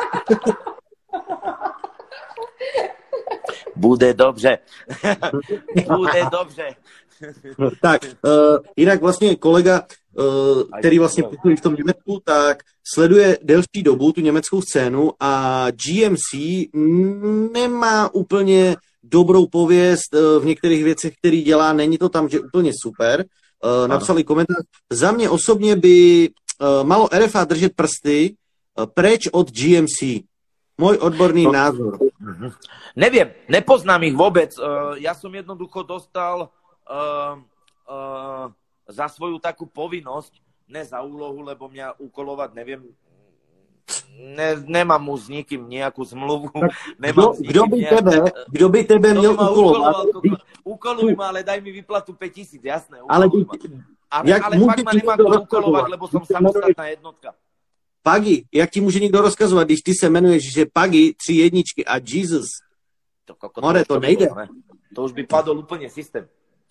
Bude dobře. Bude dobře. No, tak, uh, jinak vlastně kolega, uh, který vlastně působí v tom Německu, tak sleduje delší dobu tu německou scénu a G M C nemá úplně dobrou pověst uh, v některých věcech, který dělá, není to tam, že úplně super. Uh, napsali komentář. Za mě osobně by uh, malo R F A držet prsty uh, preč od G M C. Môj odborný no, názor. Uh-huh. Neviem, nepoznám ich vôbec. Uh, ja som jednoducho dostal uh, uh, za svoju takú povinnosť, ne za úlohu, lebo mňa ukolovať neviem. Ne, nemám mu s nikým nejakú zmluvu. Nemám kdo, kdo, by nejak... tebe, kdo by tebe měl ukolovat? Ukoluj ma, ale daj mi výplatu päť tisíc, jasné. Ale, by, ale, ale fakt ma nemá kto ukolovať, lebo som samostatná jednotka. Pagi, jak ti může někdo rozkazovat, když ty se jmenuješ, že Pagi, tři jedničky a Jesus? To, koko, More, to, to nejde. Bylo, ne? To už by padol úplně systém.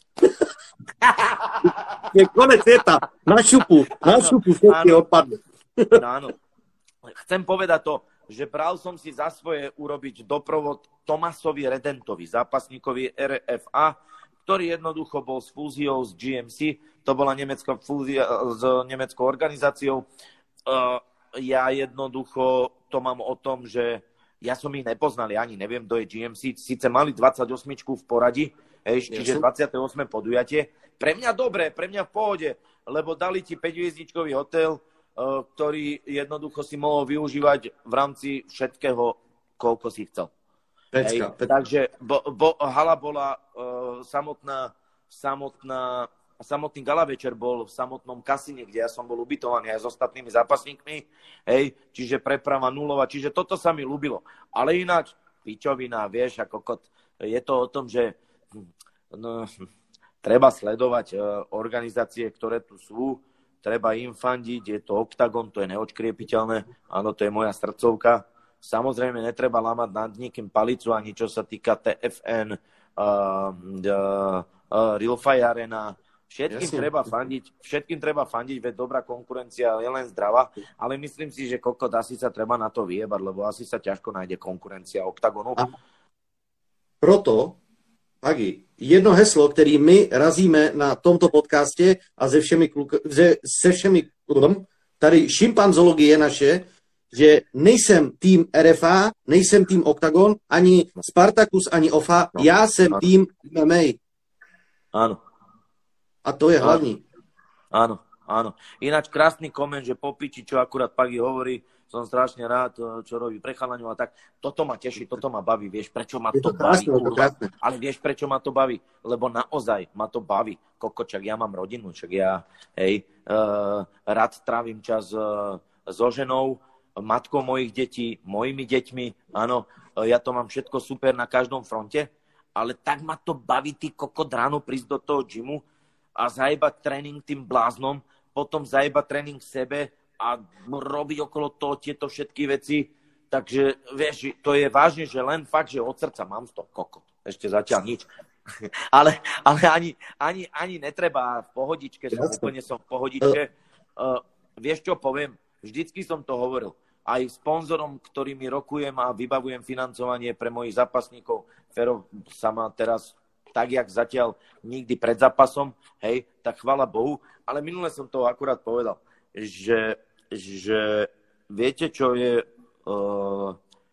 Je konec světa. Na šupu, na šupu všetky odpadne. No, áno. Chcem povedať to, že bral som si za svoje urobiť doprovod Tomasovi Redentovi, zápasníkovi R F A, ktorý jednoducho bol s fúziou s G M C. To bola nemecká fúzia s nemeckou organizáciou. Uh, ja jednoducho to mám o tom, že ja som ich nepoznal, ja ani neviem, kto je G M C. Sice mali dvadsaťosem v poradí, hej, čiže dvadsiate ôsme podujatie. Pre mňa dobre, pre mňa v pohode, lebo dali ti päťhviezdičkový hotel, uh, ktorý jednoducho si mohol využívať v rámci všetkého, koľko si chcel. Pecka, hej, takže bo, bo, hala bola uh, samotná, samotná samotný gala večer bol v samotnom kasíne, kde ja som bol ubytovaný aj s ostatnými zápasníkmi, hej, čiže preprava nulová, čiže toto sa mi ľúbilo. Ale ináč, pičovina, vieš, ako kot, je to o tom, že no, treba sledovať uh, organizácie, ktoré tu sú, treba im fandiť, je to Oktagon, to je neodškriepiteľné, áno, to je moja srdcovka. Samozrejme, netreba lámať nad nikým palicu, ani čo sa týka T F N, uh, uh, uh, Real Fire Arena. Všetkým Jasne. treba fandiť, všetkým treba fandiť, veď dobrá konkurencia je len zdravá, ale myslím si, že kokot asi sa treba na to vyjebať, lebo asi sa ťažko nájde konkurencia Oktagonu. A proto, Agi, jedno heslo, který my razíme na tomto podcastě a se všemi, kluk- se, se všemi tady šimpanzologie naše, že nejsem tým R F A, nejsem tým Oktagon, ani Spartacus, ani O F A, no, já jsem ano. tým M M A. Áno. A to je hlavní. Áno, áno. Ináč krásny koment, že po piči, čo akurát Pagi hovorí, som strašne rád, čo robí pre chalaňov a tak. Toto ma teší, toto ma baví. Vieš, prečo ma to, to baví? Krásne, ale vieš, prečo ma to baví? Lebo naozaj ma to baví. Kokočak, ja mám rodinu, čak ja hej, uh, rád trávim čas uh, so ženou, matkou mojich detí, mojimi deťmi. Áno, uh, ja to mám všetko super na každom fronte, ale tak ma to baví, ty kokot, ráno prísť do toho gymu a zajebať tréning tým bláznom, potom zajebať tréning sebe a robiť okolo toho tieto všetky veci. Takže, vieš, to je vážne, že len fakt, že od srdca mám z toho kokot. Ešte zatiaľ nič. ale ale ani, ani, ani netreba v pohodičke, som, úplne som v pohodičke. Uh, vieš, čo poviem? Vždycky som to hovoril. Aj sponzorom, ktorými rokujem a vybavujem financovanie pre mojich zápasníkov. Fero sa ma teraz tak, jak zatiaľ nikdy pred zápasom, hej, tak chvála Bohu. Ale minule som to akurát povedal, že, že viete, čo je uh,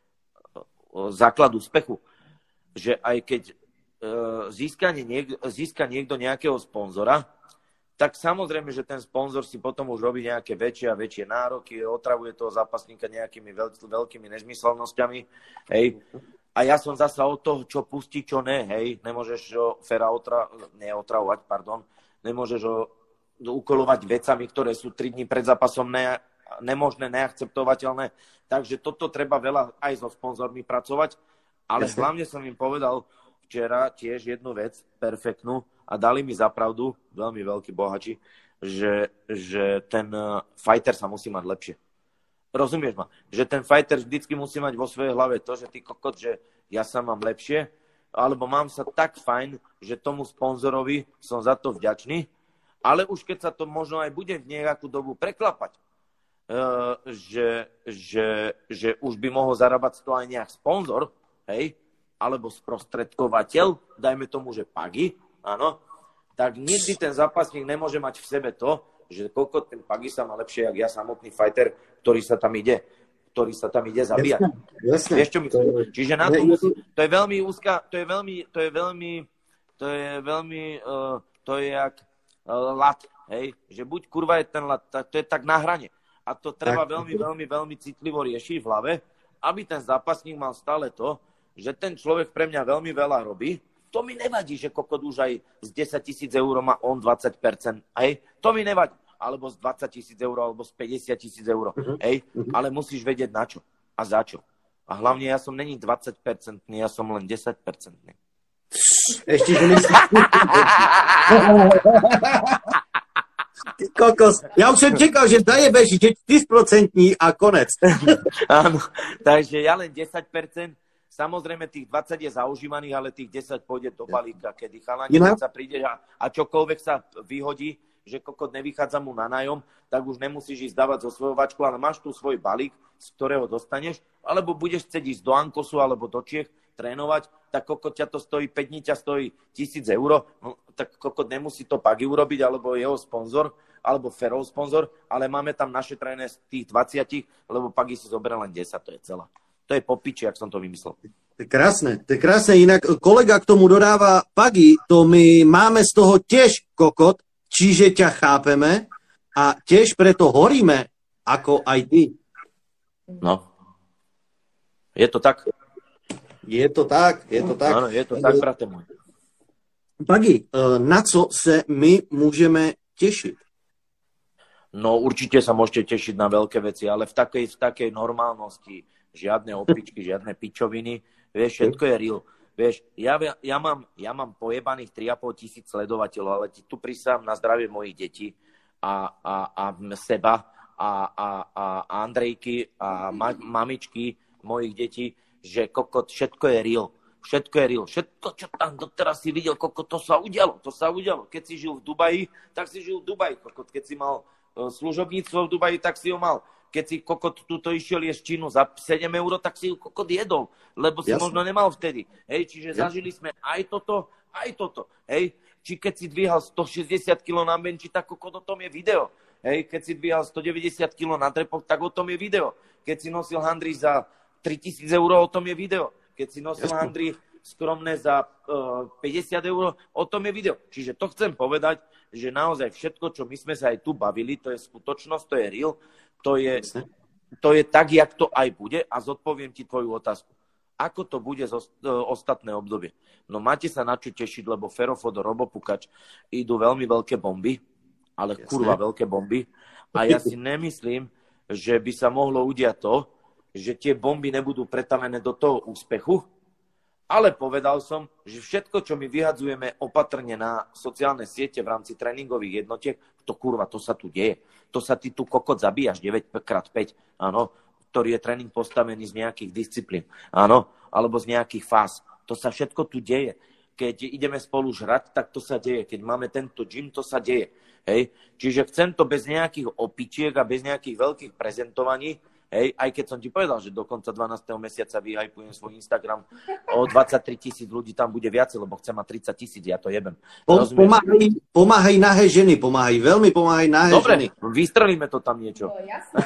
základ úspechu? Že aj keď uh, získa, niek- získa niekto nejakého sponzora, tak samozrejme, že ten sponzor si potom už robí nejaké väčšie a väčšie nároky, otravuje toho zápasníka nejakými veľ- veľkými nezmyselnosťami, hej. A ja som zasa od toho, čo pustí, čo ne, hej. Nemôžeš ho Fera otra- neotravovať, pardon. Nemôžeš ho ukolovať vecami, ktoré sú tri dni pred zápasom ne- nemožné, neakceptovateľné. Takže toto treba veľa aj so sponzormi pracovať. Ale Jasne. hlavne som im povedal včera tiež jednu vec, perfektnú, a dali mi za pravdu, veľmi veľkí bohači, že, že ten fighter sa musí mať lepšie. Rozumieš ma? Že ten fighter vždycky musí mať vo svojej hlave to, že ty kokot, že ja sa mám lepšie, alebo mám sa tak fajn, že tomu sponzorovi som za to vďačný, ale už keď sa to možno aj bude v nejakú dobu preklapať, uh, že, že, že už by mohol zarábať z toho aj nejak sponzor, hej, alebo sprostredkovateľ, dajme tomu, že Pagi, áno, tak nikdy ten zápasník nemôže mať v sebe to, že koľko ten Pagi sa má lepšie, jak ja samotný fighter, ktorý sa tam ide, ktorý sa tam ide zabíjať. Jasne, jasne. Vieš, čo myslím? To... Čiže na to musí, to je veľmi úzka, to je veľmi, to je veľmi, to je veľmi, uh, to je jak uh, lat, hej, že buď kurva je ten lat, to je tak na hrane. A to treba tak veľmi, veľmi, veľmi citlivo riešiť v hlave, aby ten zápasník mal stále to, že ten človek pre mňa veľmi veľa robí. To mi nevadí, že kokot už aj z desať tisíc eur má on dvadsať percent. Hej? To mi nevadí. Alebo z dvadsať tisíc eur, alebo z päťdesiat tisíc eur. Uh-huh. Hej? Ale musíš vedieť na čo a za čo. A hlavne ja som není dvadsať percentný, ja som len desať percentný. Ešte, že myslíš... Ty kokos. Ja už som čekal, že zajebeš, že štyri percentní a konec. Áno, takže ja len desať percent. Samozrejme, tých dvadsať je zaužívaných, ale tých desať pôjde do balíka, kedy chalani, keď sa príde a, a čokoľvek sa vyhodí, že kokot nevychádza mu na nájom, tak už nemusíš ísť dávať zo svojho vačku, ale máš tu svoj balík, z ktorého dostaneš, alebo budeš chcieť ísť do Ankosu alebo do Čiech trénovať, tak kokot ťa to stojí, päť dní ťa stojí tisíc eur, no, tak kokot nemusí to Pagi urobiť, alebo jeho sponzor, alebo Ferov sponzor, ale máme tam naše tréne z tých dvadsať, lebo Pagi si zoberie len desať, to je celá. To je po piči, jak som to vymyslel. To je krásne, to je krásne. Inak kolega k tomu dodáva, Pagi, to my máme z toho tiež kokot, čiže ťa chápeme a tiež preto horíme, ako aj ty. No. Je to tak? Je to tak, je to tak. Áno, je to tak, brate môj. Pagi, na co se my môžeme tešiť? No určite sa môžete tešiť na veľké veci, ale v takej, v takej normálnosti, žiadne opičky, žiadne pičoviny, vieš, všetko je real. Vieš, ja, ja, mám, ja mám pojebaných tri a pol tisíc sledovateľov, ale ti tu prisám na zdravie mojich detí a, a, a seba a, a, a Andrejky a ma, mamičky mojich detí, že kokot, všetko je real. Všetko je real. Všetko, čo tam doteraz si videl, kokot, to sa udialo, to sa udialo. Keď si žil v Dubaji, tak si žil v Dubaji, kokot. Keď si mal uh, služobníctvo v Dubaji, tak si ho mal. Keď si kokot túto išiel jesť činu za sedem eur, tak si ju kokot jedol, lebo si Jasne. možno nemal vtedy. Hej, čiže Jasne. zažili sme aj toto, aj toto. Hej, či keď si dvíhal stošesťdesiat kilogramov na benči, tak kokot, o tom je video. Hej, keď si dvíhal stodeväťdesiat kilogramov na trepoch, tak o tom je video. Keď si nosil handry za tritisíc eur, o tom je video. Keď si nosil Jasne. handry skromné za uh, päťdesiat eur, o tom je video. Čiže to chcem povedať, že naozaj všetko, čo my sme sa aj tu bavili, to je skutočnosť, to je real. To je, to je tak, jak to aj bude a zodpoviem ti tvoju otázku. Ako to bude zo ostatné obdobie? No máte sa na čo tešiť, lebo Ferofodo, Robo Pukač idú veľmi veľké bomby, ale Jasne. kurva veľké bomby. A ja si nemyslím, že by sa mohlo udiať to, že tie bomby nebudú pretavené do toho úspechu, ale povedal som, že všetko, čo my vyhadzujeme opatrne na sociálne siete v rámci tréningových jednotiek, to kurva, to sa tu deje. To sa ty tu kokot zabíjaš deväť krát päť, áno, ktorý je tréning postavený z nejakých disciplín, áno, alebo z nejakých fáz. To sa všetko tu deje. Keď ideme spolu žrať, tak to sa deje. Keď máme tento gym, to sa deje. Hej? Čiže chcem to bez nejakých opičiek a bez nejakých veľkých prezentovaní. Hej, aj keď som ti povedal, že do konca dvanásteho mesiaca vyhypujem svoj Instagram, o dvadsaťtri tisíc ľudí tam bude viacej, lebo chcem mať tridsať tisíc, ja to jebem. Pomáhaj, pomáhaj nahé ženy, pomáhaj, veľmi pomáhaj nahé Dobre, ženy. Dobre, vystrelíme to tam niečo. No, jasné.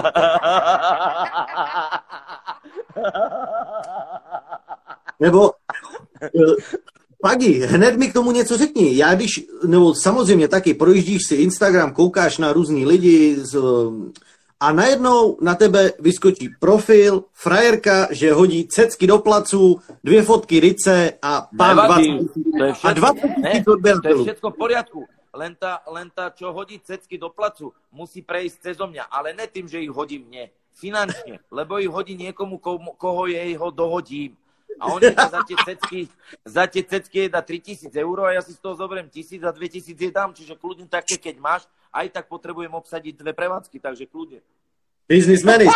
Nebo, Pagi, hned mi k tomu něco řekni. Já když, nebo samozřejmě taky projíždíš si Instagram, koukáš na různý lidi z, a najednou na tebe vyskočí profil, frajerka, že hodí cecky do placu, dvě fotky rice a pán dvacet To je všetko, a dvacet ne, to je všetko v poriadku. len tá, len tá, čo hodí cecky do placu, musí prejsť cezo mňa, ale ne tým, že ich hodím mne, finančne, lebo ich hodí niekomu, komu, koho jej ho dohodím. A oni za tie cecky, za tie cecky dá tritisíc eur a ja si z toho zoberiem tisíc a dvetisíc je dám, čiže kľudne také, keď máš, aj tak potrebujem obsadiť dve prevádzky, takže kľudne. Biznismeny.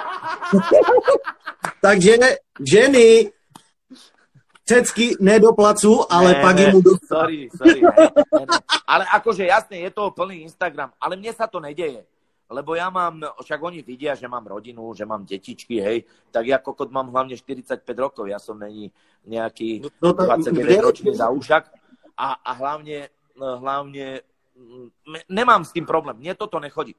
Takže ženy cecky ne do placu, ale ne, pak ne, mu do... Sorry, sorry. Ne, ne, ne. Ale akože jasne, je toho plný Instagram, ale mne sa to nedeje. Lebo ja mám, však oni vidia, že mám rodinu, že mám detičky, hej, tak ja kokot mám hlavne štyridsaťpäť rokov, ja som není nejaký no, to, dvadsaťdeväťročný zaušak a, a hlavne, hlavne nemám s tým problém, mne toto nechodí.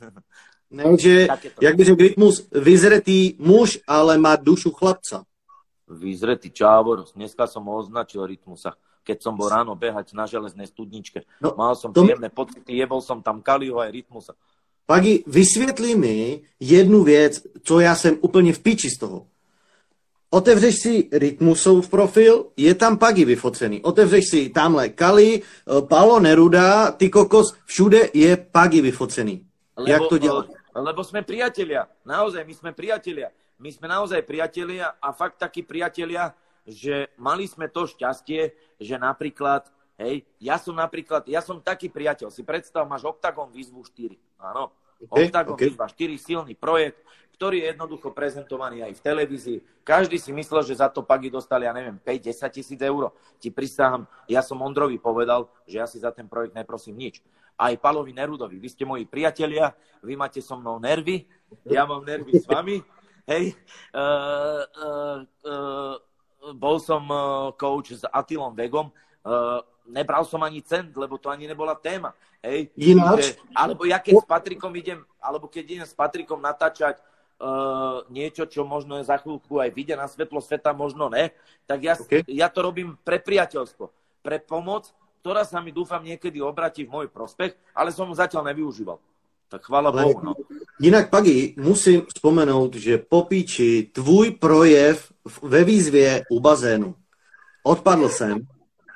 Takže, jak by řekl Rytmus, vyzretý muž, ale má dušu chlapca. Vyzretý čávor, dneska som ho označil Rytmusa, keď som bol ráno behať na železnej studničke. No, Mal som príjemné mi... pocity, jebol som tam Kaliho aj Rytmusa. Pagi, vysvětli mi jednu věc, co já jsem úplně v piči z toho. Otevřeš si Rytmusov profil, je tam Pagi vyfocený. Otevřeš si tamhle Kali, Paolo Neruda, ty kokos, všude je Pagi vyfocený. Lebo, jak to děláš? Lebo sme priatelia. Naozaj, my sme priatelia. My sme naozaj priatelia a fakt takí priatelia, že mali sme to šťastie, že napríklad, hej, ja som napríklad, ja som taký priateľ, si predstav, máš Octagon výzvu štyri, áno, okay, Octagon okay. Výzva štyri, silný projekt, ktorý je jednoducho prezentovaný aj v televízii. Každý si myslel, že za to Pagi dostali, ja neviem, päť až desať tisíc eur. Ti prisahám, ja som Ondrovi povedal, že ja si za ten projekt neprosím nič. Aj Palovi Nerudovi, vy ste moji priatelia, vy máte so mnou nervy, ja mám nervy s vami, hej, uh, uh, uh, bol som uh, coach s Attilom Vegom, uh, nebral som ani cent, lebo to ani nebola téma. Hej. Že, alebo ja keď s Patrikom idem, alebo keď idem s Patrikom natáčať uh, niečo, čo možno za chvíľku aj vyjde na svetlo sveta, možno ne, tak ja, okay. ja to robím pre priateľstvo, pre pomoc, ktorá sa mi dúfam niekedy obratí v môj prospech, ale som zatiaľ nevyužíval. Tak chvála Bohu. No. Jinak, Pagi, musím vzpomenout, že po píči tvůj projev ve výzvě u bazénu. Odpadl jsem.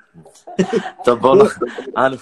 To bolo, áno,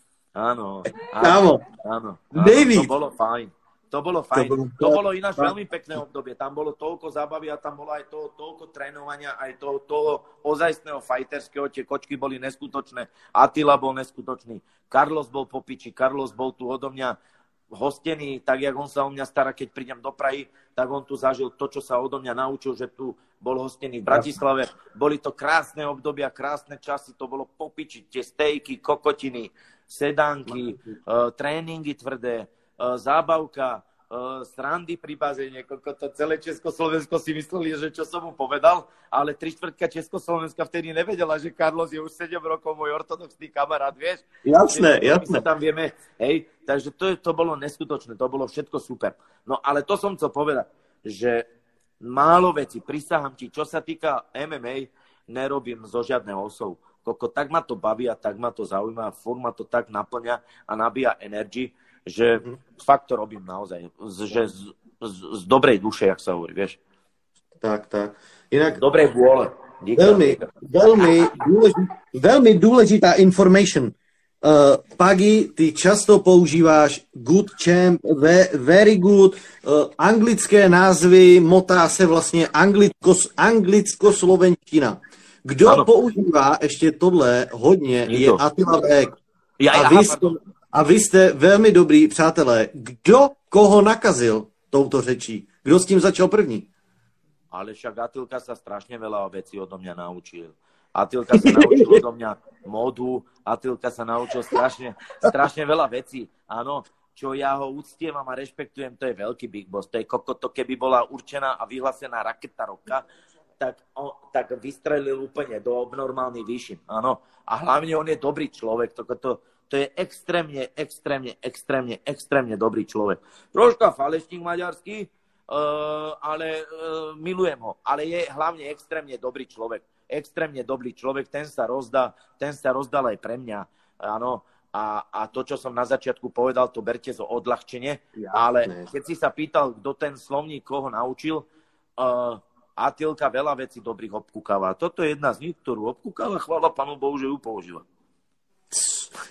áno, áno, áno, áno, to bolo fajn. To bolo fajn. To bolo, to bolo ináč veľmi pekné obdobie. Tam bolo toľko zábavy a tam bolo aj toho, toľko trénovania, aj toho, toho ozajstného fighterského. Tie kočky boli neskutočné. Attila bol neskutočný. Carlos bol po piči. Carlos bol tu odo mňa hostený, tak jak on sa o mňa stará, keď prídem do Prahy, tak on tu zažil to, čo sa odo mňa naučil, že tu bol hostený v Bratislave. Boli to krásne obdobia, krásne časy, to bolo po piči. Tie stejky, kokotiny, sedánky, uh, tréningy tvrdé, zábavka, srandy pri bazéne, to celé Československo si mysleli, že čo som mu povedal, ale tri štvrtka Československa vtedy nevedela, že Carlos je už sedem rokov môj ortodoxný kamarát, vieš? Jasné, jasné. My sa tam vieme, hej, takže to, to bolo neskutočné, to bolo všetko super. No ale to som chcel povedať, že málo veci, prisahám ti, čo sa týka em em á, nerobím zo žiadneho osov. Koko, tak ma to baví a tak ma to zaujíma, furt ma to tak naplňa a nabíja energii, že fakt to robím naozaj, že z, z, z dobrej duše, jak sa hovorí, vieš. Tak, tak. Inak... Z dobrej vôle. Veľmi, veľmi, dôležitá, veľmi dôležitá information. Uh, Pagi, ty často používáš good champ, ve, very good, uh, anglické názvy, motá se vlastně anglicko, anglicko-slovenština. Kdo ano. používá ještě tohle hodně, je Attila Veg. Ja, a, ja, vy ste, a vy ste veľmi dobrí přátelé. Kdo koho nakazil touto řečí? Kdo s tím začal první? Ale však Attilka sa strašne veľa vecí odo mňa naučil. Attilka sa naučil odo mňa modu, Attilka sa naučil strašne, strašne veľa vecí. Áno, čo ja ho uctievam a rešpektujem, to je veľký big boss. To je kokoto, keby bola určená a vyhlásená raketa roka, tak, on, tak vystrelil úplne do obnormálnych výšin. Áno. A hlavne on je dobrý človek. To, to, to je extrémne, extrémne, extrémne, extrémne dobrý človek. Troška falešník maďarský, uh, ale uh, milujem ho. Ale je hlavne extrémne dobrý človek. Extrémne dobrý človek. Ten sa rozdá, ten sa rozdal aj pre mňa. Áno. A, a to, čo som na začiatku povedal, to berte zo odľahčenie. Ale keď si sa pýtal, kto ten slovník koho naučil, uh, Attilka veľa vecí dobrých obkúkáva. Toto je jedna z nich, ktorú obkúkáva. Chvála Pánu Bohu, že ju používa.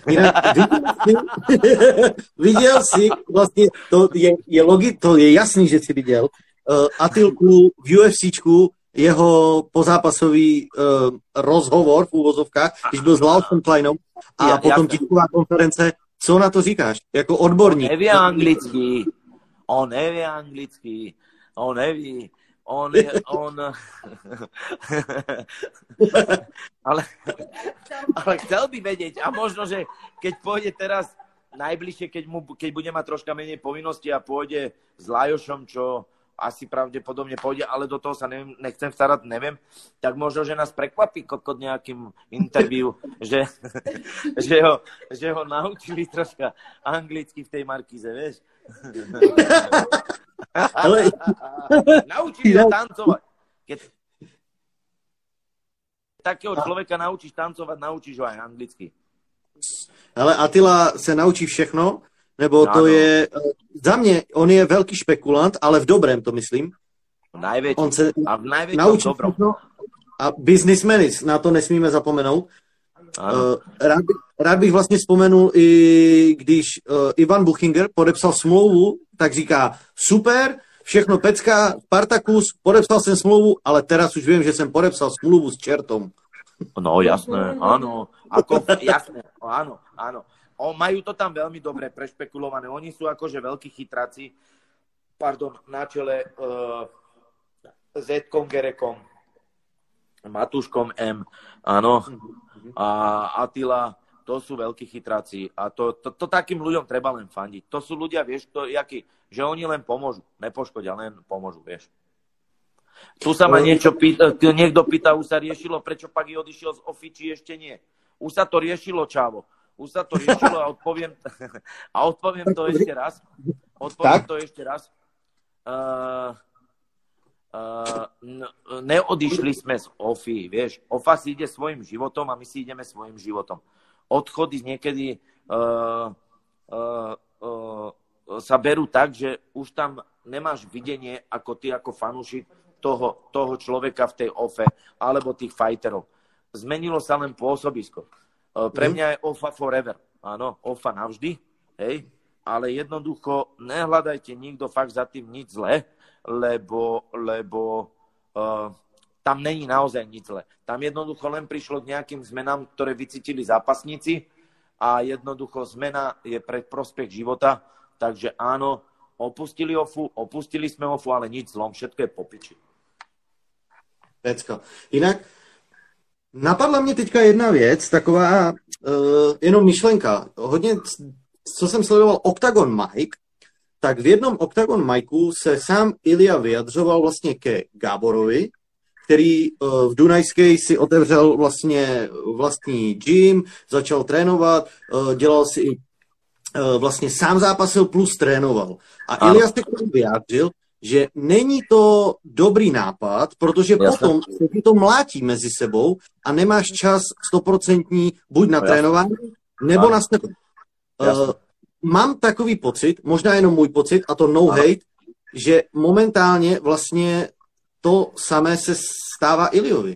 Jinak viděl jsi, viděl jsi, vlastně to je, je logi, to je jasný, že jsi viděl, uh, Atilku v UFCčku, jeho pozápasový uh, rozhovor v úvozovkách, když byl s Laosem Kleinom a ja, potom tisková konference. Co na to říkáš? Jako odborník. On neví anglicky. On neví anglicky. On neví. On je, on... ale, ale chcel by vedieť. A možno, že keď pôjde teraz najbližšie, keď, mu, keď bude mať troška menej povinnosti a pôjde s Lajošom, čo asi pravdepodobne pôjde, ale do toho sa neviem, nechcem starať, neviem, tak možno, že nás prekvapí kokot nejakým interview, že, že, ho, že ho naučili troška anglicky v tej Markíze, vieš? Ale... Naučili ho tancovať. Keď takého človeka naučíš tancovať, naučíš ho aj anglicky. Ale Attila se naučí všechno, nebo to ano. je, za mě, on je velký špekulant, ale v dobrém to myslím. Najväčší. On se a v najväčšom naučí dobrom. všechno a businessmeny, na to nesmíme zapomenout. Uh, rád, bych, rád bych vlastně vzpomenul i když uh, Ivan Buchinger podepsal smlouvu, tak říká, super, všechno pecká, Spartacus, podepsal jsem smlouvu, ale teraz už vím, že jsem podepsal smlouvu s čertom. No jasné, áno. Ako, jasné, áno, áno. O, majú to tam veľmi dobre prešpekulované. Oni sú akože veľkí chytráci, pardon, na čele uh, Zetkom Gerekom, Matúškom M, áno, a Attila, to sú veľkí chytráci. A to, to, to takým ľuďom treba len fandiť. To sú ľudia, vieš, to, jaký, že oni len pomôžu, nepoškodia, len pomôžu, vieš. Tu sa ma niečo pýta, niekto pýta, už sa riešilo, prečo Pagi odišiel z Ofy, či ešte nie. Už sa to riešilo, čávo. Už sa to riešilo a odpoviem, a odpoviem to ešte raz. Odpoviem to ešte raz. Uh, uh, neodišli sme z Ofy, vieš. Ofa si ide svojim životom a my si ideme svojim životom. Odchody niekedy uh, uh, uh, sa berú tak, že už tam nemáš videnie ako ty, ako fanúšik toho, toho človeka v tej Ofe alebo tých fighterov. Zmenilo sa len pôsobisko. Pre mňa je Ofa forever. Áno, Ofa navždy, hej, ale jednoducho nehľadajte nikto fakt za tým nič zlé, lebo, lebo uh, tam není naozaj nič zlé. Tam jednoducho len prišlo k nejakým zmenám, ktoré vycítili zápasníci a jednoducho zmena je pre prospech života, takže áno, opustili Ofu, opustili sme Ofu, ale nič zlom, všetko je po piči. Pecka. Jinak napadla mě teďka jedna věc, taková uh, jenom myšlenka. Hodně, co jsem sledoval Octagon Mike, tak v jednom Octagon Mikeu se sám Ilja vyjadřoval vlastně ke Gáborovi, který uh, v Dunajské si otevřel vlastně vlastní gym, začal trénovat, uh, dělal si i uh, vlastně sám zápasil plus trénoval. A ano. Ilja se k tomu vyjádřil, že není to dobrý nápad, protože Jasne. potom se ti to mlátí mezi sebou a nemáš čas stoprocentní buď na trénování, nebo ano. na sebe. Uh, mám takový pocit, možná jenom můj pocit, a to no ano. hate, že momentálně vlastně to samé se stává Iliovi.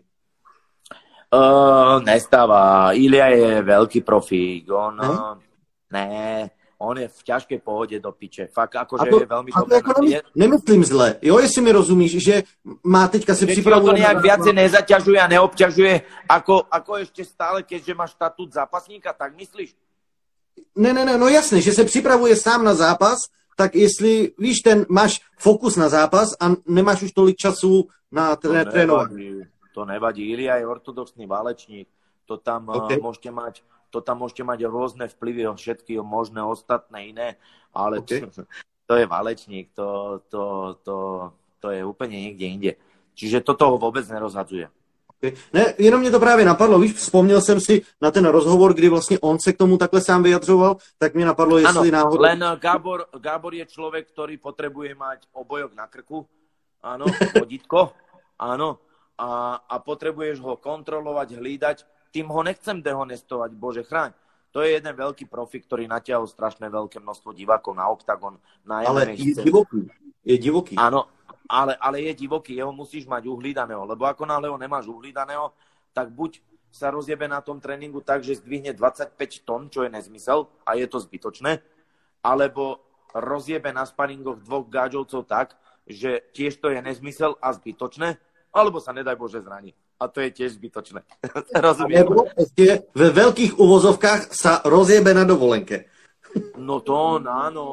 Uh, nestáva. Ilia je veľký profík. On... Uh, ne... On je v ťažkej pohode do piče. Fakt, akože to, je veľmi dobré. Jako nemysl, nemyslím zle. Jo, jestli mi rozumíš, že má teďka si připravuje... to nejak viacej nezaťažuje a neobťažuje, ako, ako ešte stále, keďže má štatút zápasníka, tak myslíš? Ne, ne, ne, no jasné, že se připravuje sám na zápas, tak jestli, víš, ten máš fokus na zápas a nemáš už tolik času na tré, trénování. To nevadí. Ilia je ortodoxný válečník. To tam okay. uh, môžete mať to tam môžete mať rôzne vplyvy o všetky možné ostatné iné, ale okay. to, to je válečník, to, to, to, to je úplne niekde inde. Čiže toto ho vôbec nerozhadzuje. Okay. Ne, jenom mě to právě napadlo, víš, vzpomněl jsem si na ten rozhovor, kdy vlastně on se k tomu takhle sám vyjadřoval, tak mě napadlo, jestli ano, náhodou... len Gábor, Gábor je človek, ktorý potrebuje mať obojok na krku, áno, vodítko, áno, a, a potrebuješ ho kontrolovať, hlídať. Tým ho nechcem dehonestovať, bože chráň. To je jeden veľký profik, ktorý natiahol strašné veľké množstvo divákov na Octagon. Na ale je divoký. Je divoký. Áno, ale, ale je divoký. Jeho musíš mať uhlídaného, lebo ako náhle ho nemáš uhlídaného, tak buď sa rozjebe na tom tréningu tak, že zdvihne dvadsaťpäť tón, čo je nezmysel a je to zbytočné, alebo rozjebe na sparingoch dvoch gáďovcov tak, že tiež to je nezmysel a zbytočné, alebo sa nedaj Bože zraní. A to je tiež zbytočné. Rozumiem. Nebo ešte ve veľkých uvozovkách sa rozjebe na dovolenke. No to áno.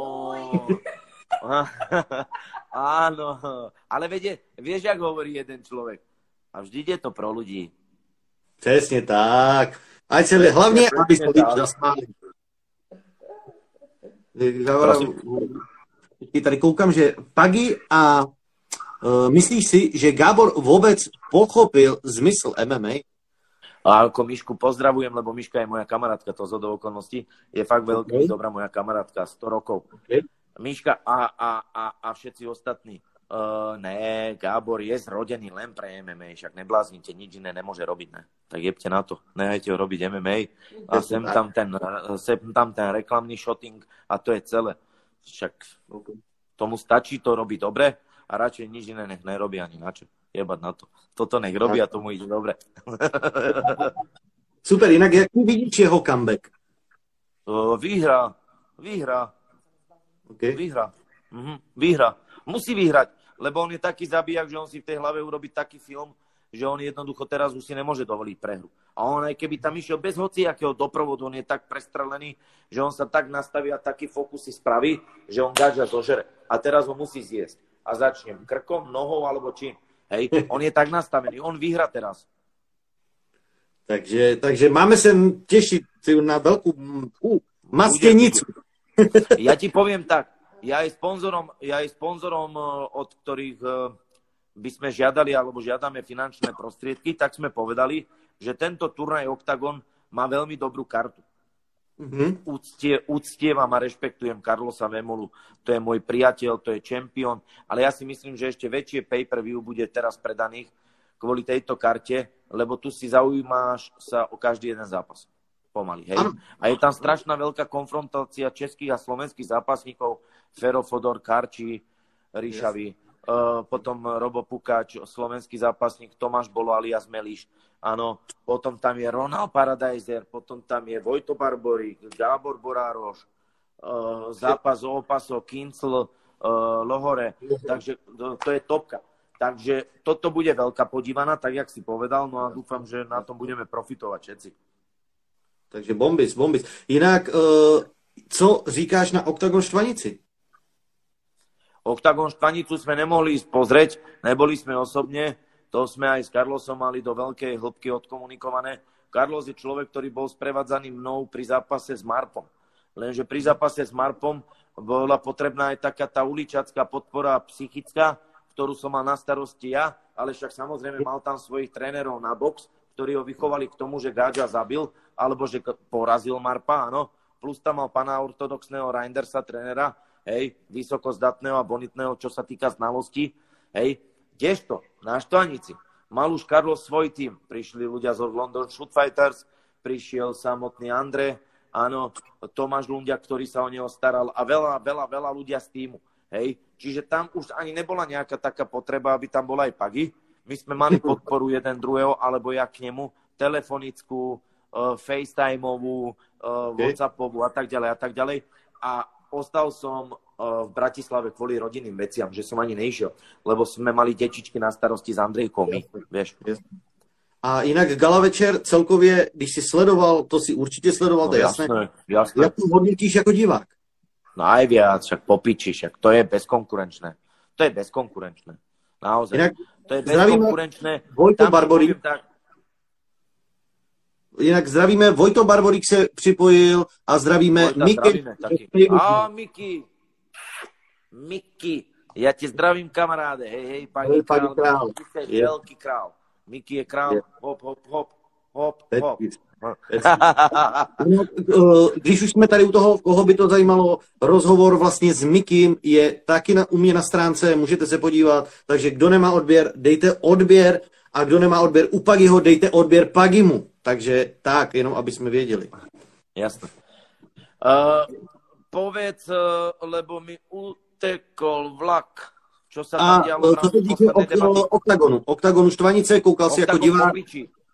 Áno. Ale viete, vieš, jak hovorí jeden človek. A vždy je to pro ľudí. Přesně tak. Ať se hlavně, aby se lidi zasmáli. Tady koukám, že Pagi a uh, myslíš si, že Gábor vůbec pochopil zmysl M M A? A ako Mišku pozdravujem, lebo Miška je moja kamarátka, to zhodou okolností. Je fakt veľký, okay. Dobrá moja kamarátka, sto rokov. Okay. Miška a, a, a, a všetci ostatní. Uh, ne, Gábor je zrodený len pre M M A, však nebláznite, nič iné nemôže robiť, ne. Tak jebte na to, nehajte ho robiť M M A a sem tam ten, sem tam ten reklamný shooting a to je celé. Však tomu stačí to robiť dobre a radšej nič iné nech nerobí ani na čo. Jebať na to. Toto nech robí a tomu ide dobre. Super, inak jak vidíš jeho comeback? Uh, výhra, výhra, okay. výhra, mhm, výhra. Musí vyhrať, lebo on je taký zabijak, že on si v tej hlave urobí taký film, že on jednoducho teraz už si nemôže dovoliť prehru. A on aj keby tam išiel bez hociakého doprovodu, on je tak prestrelený, že on sa tak nastaví a taký fokus si spraví, že on gáča zožere. A teraz ho musí zjesť. A začne krkom, nohou alebo čím. Hej, on je tak nastavený, on vyhra teraz. Takže, takže máme sa tešiť na veľkú uh, mastenicu. Ja ti poviem tak, ja aj sponzorom, ja aj sponzorom, od ktorých by sme žiadali alebo žiadame finančné prostriedky, tak sme povedali, že tento turnaj Octagon má veľmi dobrú kartu. Mm-hmm. Úctie, úctievam a rešpektujem Carlosa Vemolu. To je môj priateľ, to je čempión, ale ja si myslím, že ešte väčšie pay-per-view bude teraz predaných kvôli tejto karte, lebo tu si zaujímáš sa o každý jeden zápas. Pomaly, hej. A je tam strašná veľká konfrontácia českých a slovenských zápasníkov. Fero Fodor, Karči, Ríšavi, yes. uh, potom Robo Pukáč, slovenský zápasník, Tomáš Bolo alias Meliš, áno, potom tam je Ronald Paradiser, potom tam je Vojto Barborík, Gábor Borároš, uh, zápas o opaso, Kincl, uh, Lohore, takže to, to je topka. Takže toto bude veľká podívaná, tak jak si povedal, no a dúfam, že na tom budeme profitovať všetci. Takže bombis, bombis. Jinak, uh, co říkáš na Octagon Štvanici? Octagon Štvanicu sme nemohli ísť pozrieť, neboli sme osobne, to sme aj s Carlosom mali do veľkej hĺbky odkomunikované. Carlos je človek, ktorý bol sprevádzaný mnou pri zápase s Marpom. Lenže pri zápase s Marpom bola potrebná aj taká tá uličacká podpora psychická, ktorú som mal na starosti ja, ale však samozrejme mal tam svojich trénerov na box, ktorí ho vychovali k tomu, že Gáďa zabil, alebo že porazil Marpa, áno. Plus tam mal pána ortodoxného Reindersa, trénera, hej, vysokozdatného a bonitného, čo sa týka znalostí, hej. Kdežto, na Štvanici, mal už Carlos svoj tým, prišli ľudia z London Shoot Fighters, prišiel samotný Andre, áno, Tomáš Lundia, ktorý sa o neho staral a veľa, veľa, veľa ľudia z týmu, hej. Čiže tam už ani nebola nejaká taká potreba, aby tam bola aj Pagi. My sme mali podporu jeden druhého, alebo ja k nemu, telefonickú, uh, FaceTimeovú, uh, WhatsAppovú a tak ďalej a tak ďalej. A ostal som uh, v Bratislave kvôli rodinným veciam, že som ani nešiel, lebo sme mali detičky na starosti s Andrejkou, my, vieš. A jinak Gala večer celkově, když si sledoval, to si určitě sledoval, no, to je jasné. jasné. Jak to hodnotíš jako divák? No aj viac, však popiči, však to je bezkonkurenčné. To je bezkonkurenčné. Naozaj. Inak to je bezkonkurenčné. Vojto Barborík. Tak... Jinak zdravíme, Vojto Barborík se připojil a zdravíme Vojta, Miky. Zdravíme, taky. A Miky. Miky. Ja ti zdravím, kamaráde. Hej, hej, pani král. král. Je veľký král. Miky je král. Hop, hop, hop. Hop, hop. Když už jsme tady u toho, koho by to zajímalo, rozhovor vlastně s Mikym je taky na, u mě na stránce, můžete se podívat, takže kdo nemá odběr, dejte odběr a kdo nemá odběr u Pagiho, dejte odběr Pagimu. Takže tak, jenom aby jsme věděli. Jasné. Uh, povedz, uh, lebo mi utekol vlak. Čo sa tam a dialo? Co se týče Oktagonu, Oktagonu Štvanice, koukal si jako divák.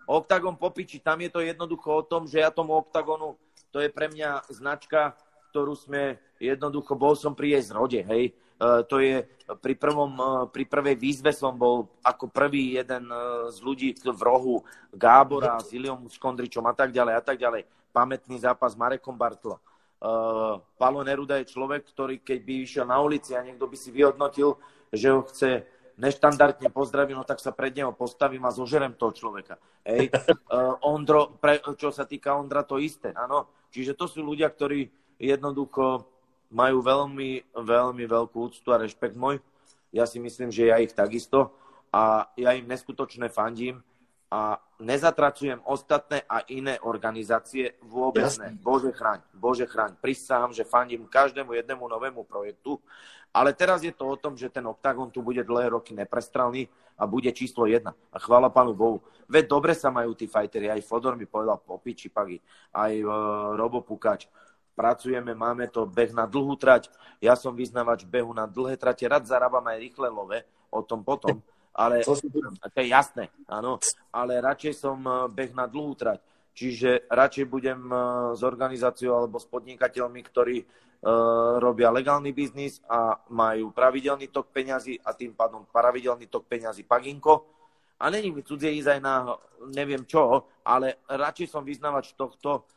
Octagon popiči, tam je to jednoducho o tom, že ja tomu Octagonu, to je pre mňa značka, ktorú sme jednoducho, bol som pri jej zrode, hej. Uh, to je pri, prvom, uh, pri prvej výzve som bol ako prvý jeden uh, z ľudí v rohu Gábora s Iliom Škondričom a tak ďalej a tak ďalej. Pamätný zápas s Marekom Bartlo. Uh, Palo Neruda je človek, ktorý keď by išiel na ulici a niekto by si vyhodnotil, že ho chce neštandardne pozdraviť, no tak sa pred neho postavím a zožerem toho človeka. Hej. Uh, Ondro, pre, čo sa týka Ondra, to isté, áno. Čiže to sú ľudia, ktorí jednoducho majú veľmi, veľmi veľkú úctu a rešpekt môj. Ja si myslím, že ja ich takisto a ja im neskutočne fandím a nezatracujem ostatné a iné organizácie vôbec ne. Bože chráň, Bože chráň. Prisahám, že fandím každému jednému novému projektu, ale teraz je to o tom, že ten Octagon tu bude dlhé roky neprestrelný a bude číslo jedna. A chvála Pánu Bohu. Veď dobre sa majú tí fighteri, aj Fodor mi povedal po piči pagi, aj uh, Robo Pukač. Pracujeme, máme to beh na dlhú trať. Ja som vyznavač behu na dlhé trate. Rád zarábam aj rýchle love, o tom potom. Ale to je jasné, áno. Ale radšej som beh na dlhú trať. Čiže radšej budem s organizáciou alebo s podnikateľmi, ktorí uh, robia legálny biznis a majú pravidelný tok peňazí a tým pádom pravidelný tok peňazí Paginko. A není mi cudzie ísť aj na neviem čo, ale radšej som vyznavač tohto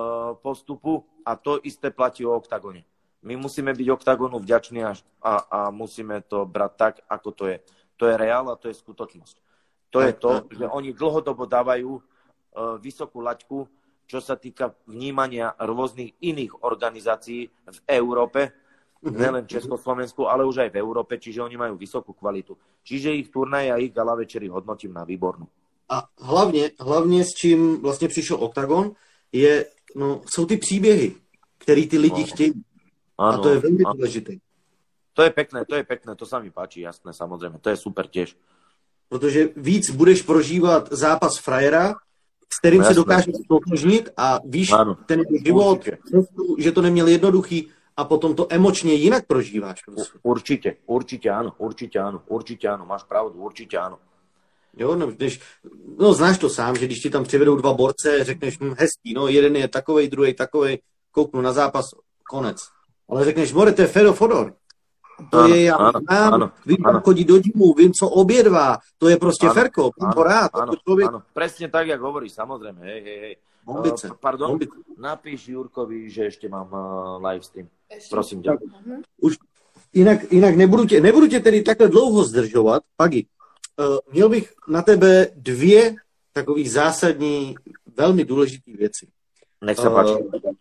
postupu a to isté platí o Octagone. My musíme byť Octagonu vďační a, a musíme to brať tak, ako to je. To je reál a to je skutočnosť. To je to, že oni dlhodobo dávajú uh, vysokú laťku, čo sa týka vnímania rôznych iných organizácií v Európe, mm-hmm. nielen v Československu, ale už aj v Európe, čiže oni majú vysokú kvalitu. Čiže ich turnaje a ich gala večery hodnotím na výbornú. A hlavně, hlavně s čím vlastně přišel Octagon, je, no, jsou ty příběhy, který ty lidi no. chtějí. Ano, a to je velmi ano. důležité. To je pekné, to je pekné, to sa mi páči, jasné, samozrejme, to je super tiež. Protože víc budeš prožívat zápas frajera, s kterým no, se dokážeš stotožnit a víš ano. ten život, určitě. Že to neměl jednoduchý a potom to emočně jinak prožíváš. Prostě. Určitě, určitě áno, určitě áno, určitě áno, máš pravdu, určitě áno. Jo, no, když, no znáš to sám, že když ti tam přivedou dva borce, řekneš, hm, hezký, no jeden je takovej, druhý takovej, kouknu na zápas, konec. Ale řekneš, more, to je Fedor Fodor. To ano, je, já ano, znám, ano, vím, ano. chodí do gymu, vím, co obědvá, to je prostě ano, Ferko, vím to rád. Ano, člověk... ano, presne tak, jak hovoríš, samozrejme, hej, hej, hej. Bombice, uh, pardon, bombice. Napíš Jurkovi, že ešte mám uh, live stream. Prosím ťa. Už jinak, jinak nebudu, tě, nebudu tě tedy takhle dlouho zdržovat, Pagi. Uh, měl bych na tebe dvě takových zásadní, velmi důležité věci. Nech se páči. Uh,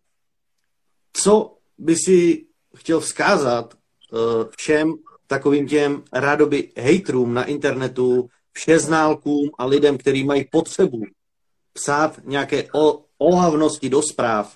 co by si chtěl vzkázat uh, všem takovým těm rádoby hejtrům na internetu, všeználkům a lidem, kteří mají potřebu psát nějaké o, ohavnosti do správ?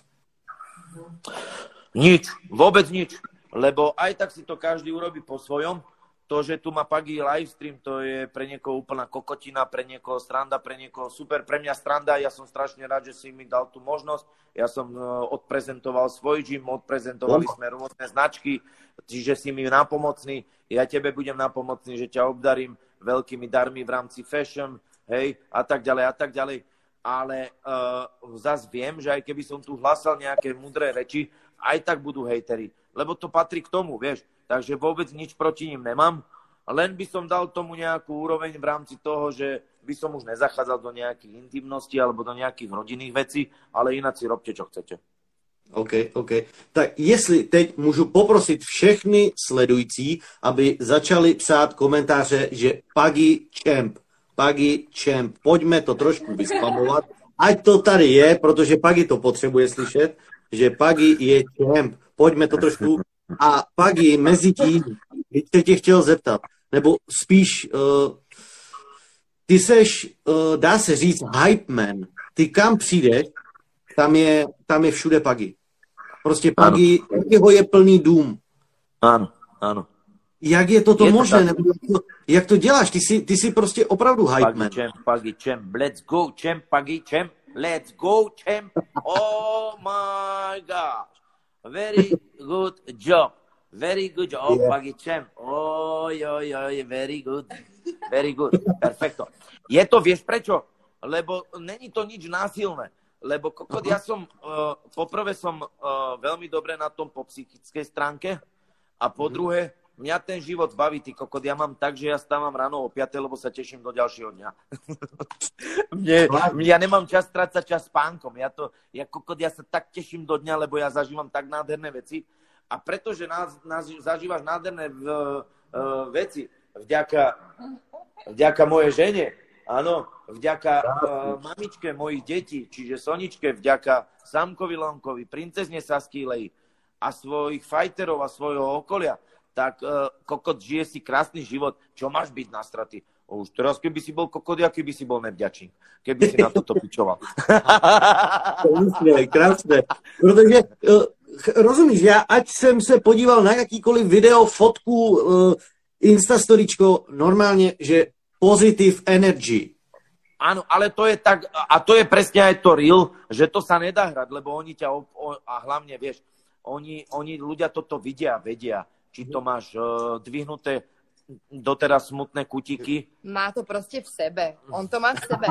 Nič, vôbec nič. Lebo aj tak si to každý urobí po svojom. To, že tu má Pagi livestream, to je pre niekoho úplná kokotina, pre niekoho sranda, pre niekoho super, pre mňa sranda. Ja som strašne rád, že si mi dal tú možnosť. Ja som odprezentoval svoj gym, odprezentovali sme rôzne značky, čiže si mi napomocný. Ja tebe budem napomocný, že ťa obdarím veľkými darmi v rámci fashion, hej, a tak ďalej, a tak ďalej. Ale uh, zas viem, že aj keby som tu hlásal nejaké mudré reči, aj tak budú hejteri. Lebo to patrí k tomu, vieš. Takže vôbec nič proti ním nemám. Len by som dal tomu nejakú úroveň v rámci toho, že by som už nezachádzal do nejakých intimností alebo do nejakých rodinných vecí, ale ináč si robte, čo chcete. OK, OK. Tak jestli teď můžu poprosit všechny sledující, aby začali psát komentáře, že Pagi Champ, Pagi Champ, pojďme to trošku vyspamovat, ať to tady je, protože Pagi to potřebuje slyšet, že Pagi je Champ, pojďme to trošku. A Pagi mezi tím, bych se tě chtěl zeptat, nebo spíš, uh, ty seš, uh, dá se říct, hype man. Ty kam přijdeš, tam je, tam je všude Pagi. Prostě Pagi, jeho je plný dům. Ano, ano. Jak je toto je možné? To nebo jak, to, jak to děláš? Ty jsi, ty jsi prostě opravdu hype Pagi man. Champ, Pagi Champ, let's go Champ, Pagi Champ, let's go Champ. Oh my gosh. Very good job. Very good job, yeah. Pagi Champ. Oj, oj, oj, very good. Very good. Perfecto. Je to, vieš prečo? lebo není to nič násilné. Lebo kokot, ja som, uh, poprvé som uh, veľmi dobre na tom po psychickej stránke a po druhé, mňa ten život baví, ty kokot, ja mám tak, že ja stávam ráno o piatej, lebo sa teším do ďalšieho dňa. Mne, ja nemám čas strácať čas spánkom. Ja, to, ja, kokot, ja sa tak teším do dňa, lebo ja zažívam tak nádherné veci. A pretože nás, nás, zažívaš nádherné v, uh, veci vďaka, vďaka mojej žene, áno, vďaka uh, mamičke mojich detí, čiže Soničke, vďaka Samkovi Lonkovi, princezne Saskýlej a svojich fajterov a svojho okolia, tak uh, kokot, žije si krásny život. Čo máš byť nastraty? Už teraz, keby si bol kokot, aký by si bol nevďačný, keby si na toto pičoval. Krásné, krásné. Protože, uh, rozumíš, já ať jsem se podíval na jakýkoliv video, fotku, uh, instastoričko, normálně, že positive energy. Áno, ale to je tak, a to je presne aj to real, že to sa nedá hrať, lebo oni ťa, o, o, a hlavne, vieš, oni, oni ľudia toto vidia, vedia, či to máš uh, dvihnuté doteraz smutné kutíky. Má to prostě v sebe, on to má v sebe.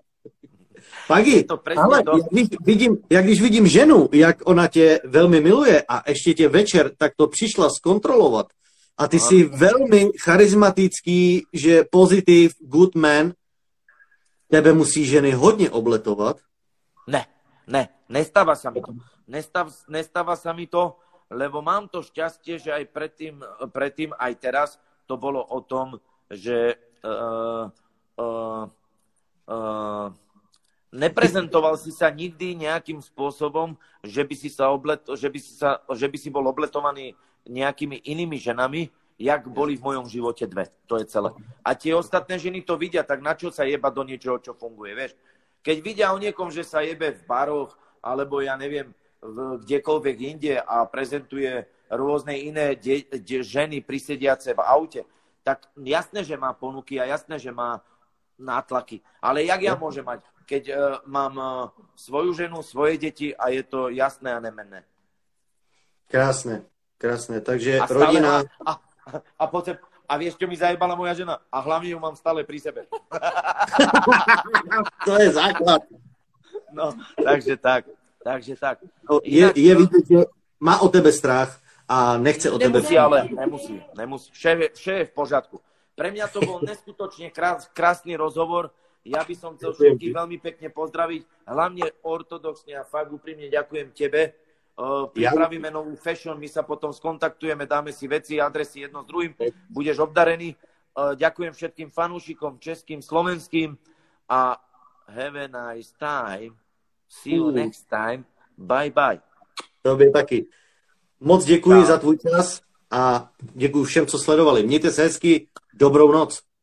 Pagi, ale to... jak, když vidím, jak když vidím ženu, jak ona tě velmi miluje a ještě tě večer tak to přišla zkontrolovat a ty jsi velmi charismatický, že pozitiv, good man, tebe musí ženy hodně obletovat? Ne, ne, nestáva sa mi to. Nestáv, nestáva sa mi to, lebo mám to šťastie, že aj predtým, predtým aj teraz to bolo o tom, že uh, uh, uh, neprezentoval si sa nikdy nejakým spôsobom, že by si, sa oblet, že by si, sa, že by si bol obletovaný nejakými inými ženami, jak boli v mojom živote dve. To je celé. A tie ostatné ženy to vidia, tak na čo sa jeba do niečoho, čo funguje, vieš? Keď vidia o niekom, že sa jebe v baroch, alebo ja neviem, v, kdekoľvek inde a prezentuje rôzne iné de, de, ženy prisediace v aute, tak jasné, že má ponuky a jasné, že má nátlaky. Ale jak ja môžem mať, keď uh, mám uh, svoju ženu, svoje deti a je to jasné a nemenné. Krásne, krásne. Takže a rodina... A, a, a, potom, a vieš, čo mi zajebala moja žena? A hlavne ju mám stále pri sebe. To je základ. No, takže tak. Takže tak. No, je, je vidět, že má o tebe strach a nechce o tebe... Nemusí, ale nemusí. nemusí. Šéf, je, šéf je v pořádku. Pre mňa to bol neskutočne krás, krásny rozhovor. Ja by som chcel všetkých veľmi pekne pozdraviť. Hlavne ortodoxne a fakt úprimne ďakujem tebe. Uh, pripravíme novú fashion, my sa potom skontaktujeme, dáme si veci, adresy jedno s druhým. Budeš obdarený. Uh, ďakujem všetkým fanúšikom, českým, slovenským a have a nice time. See you next time. Bye bye. Tobě taky. Moc děkuji za tvůj čas a děkuji všem, co sledovali. Mějte se hezky. Dobrou noc.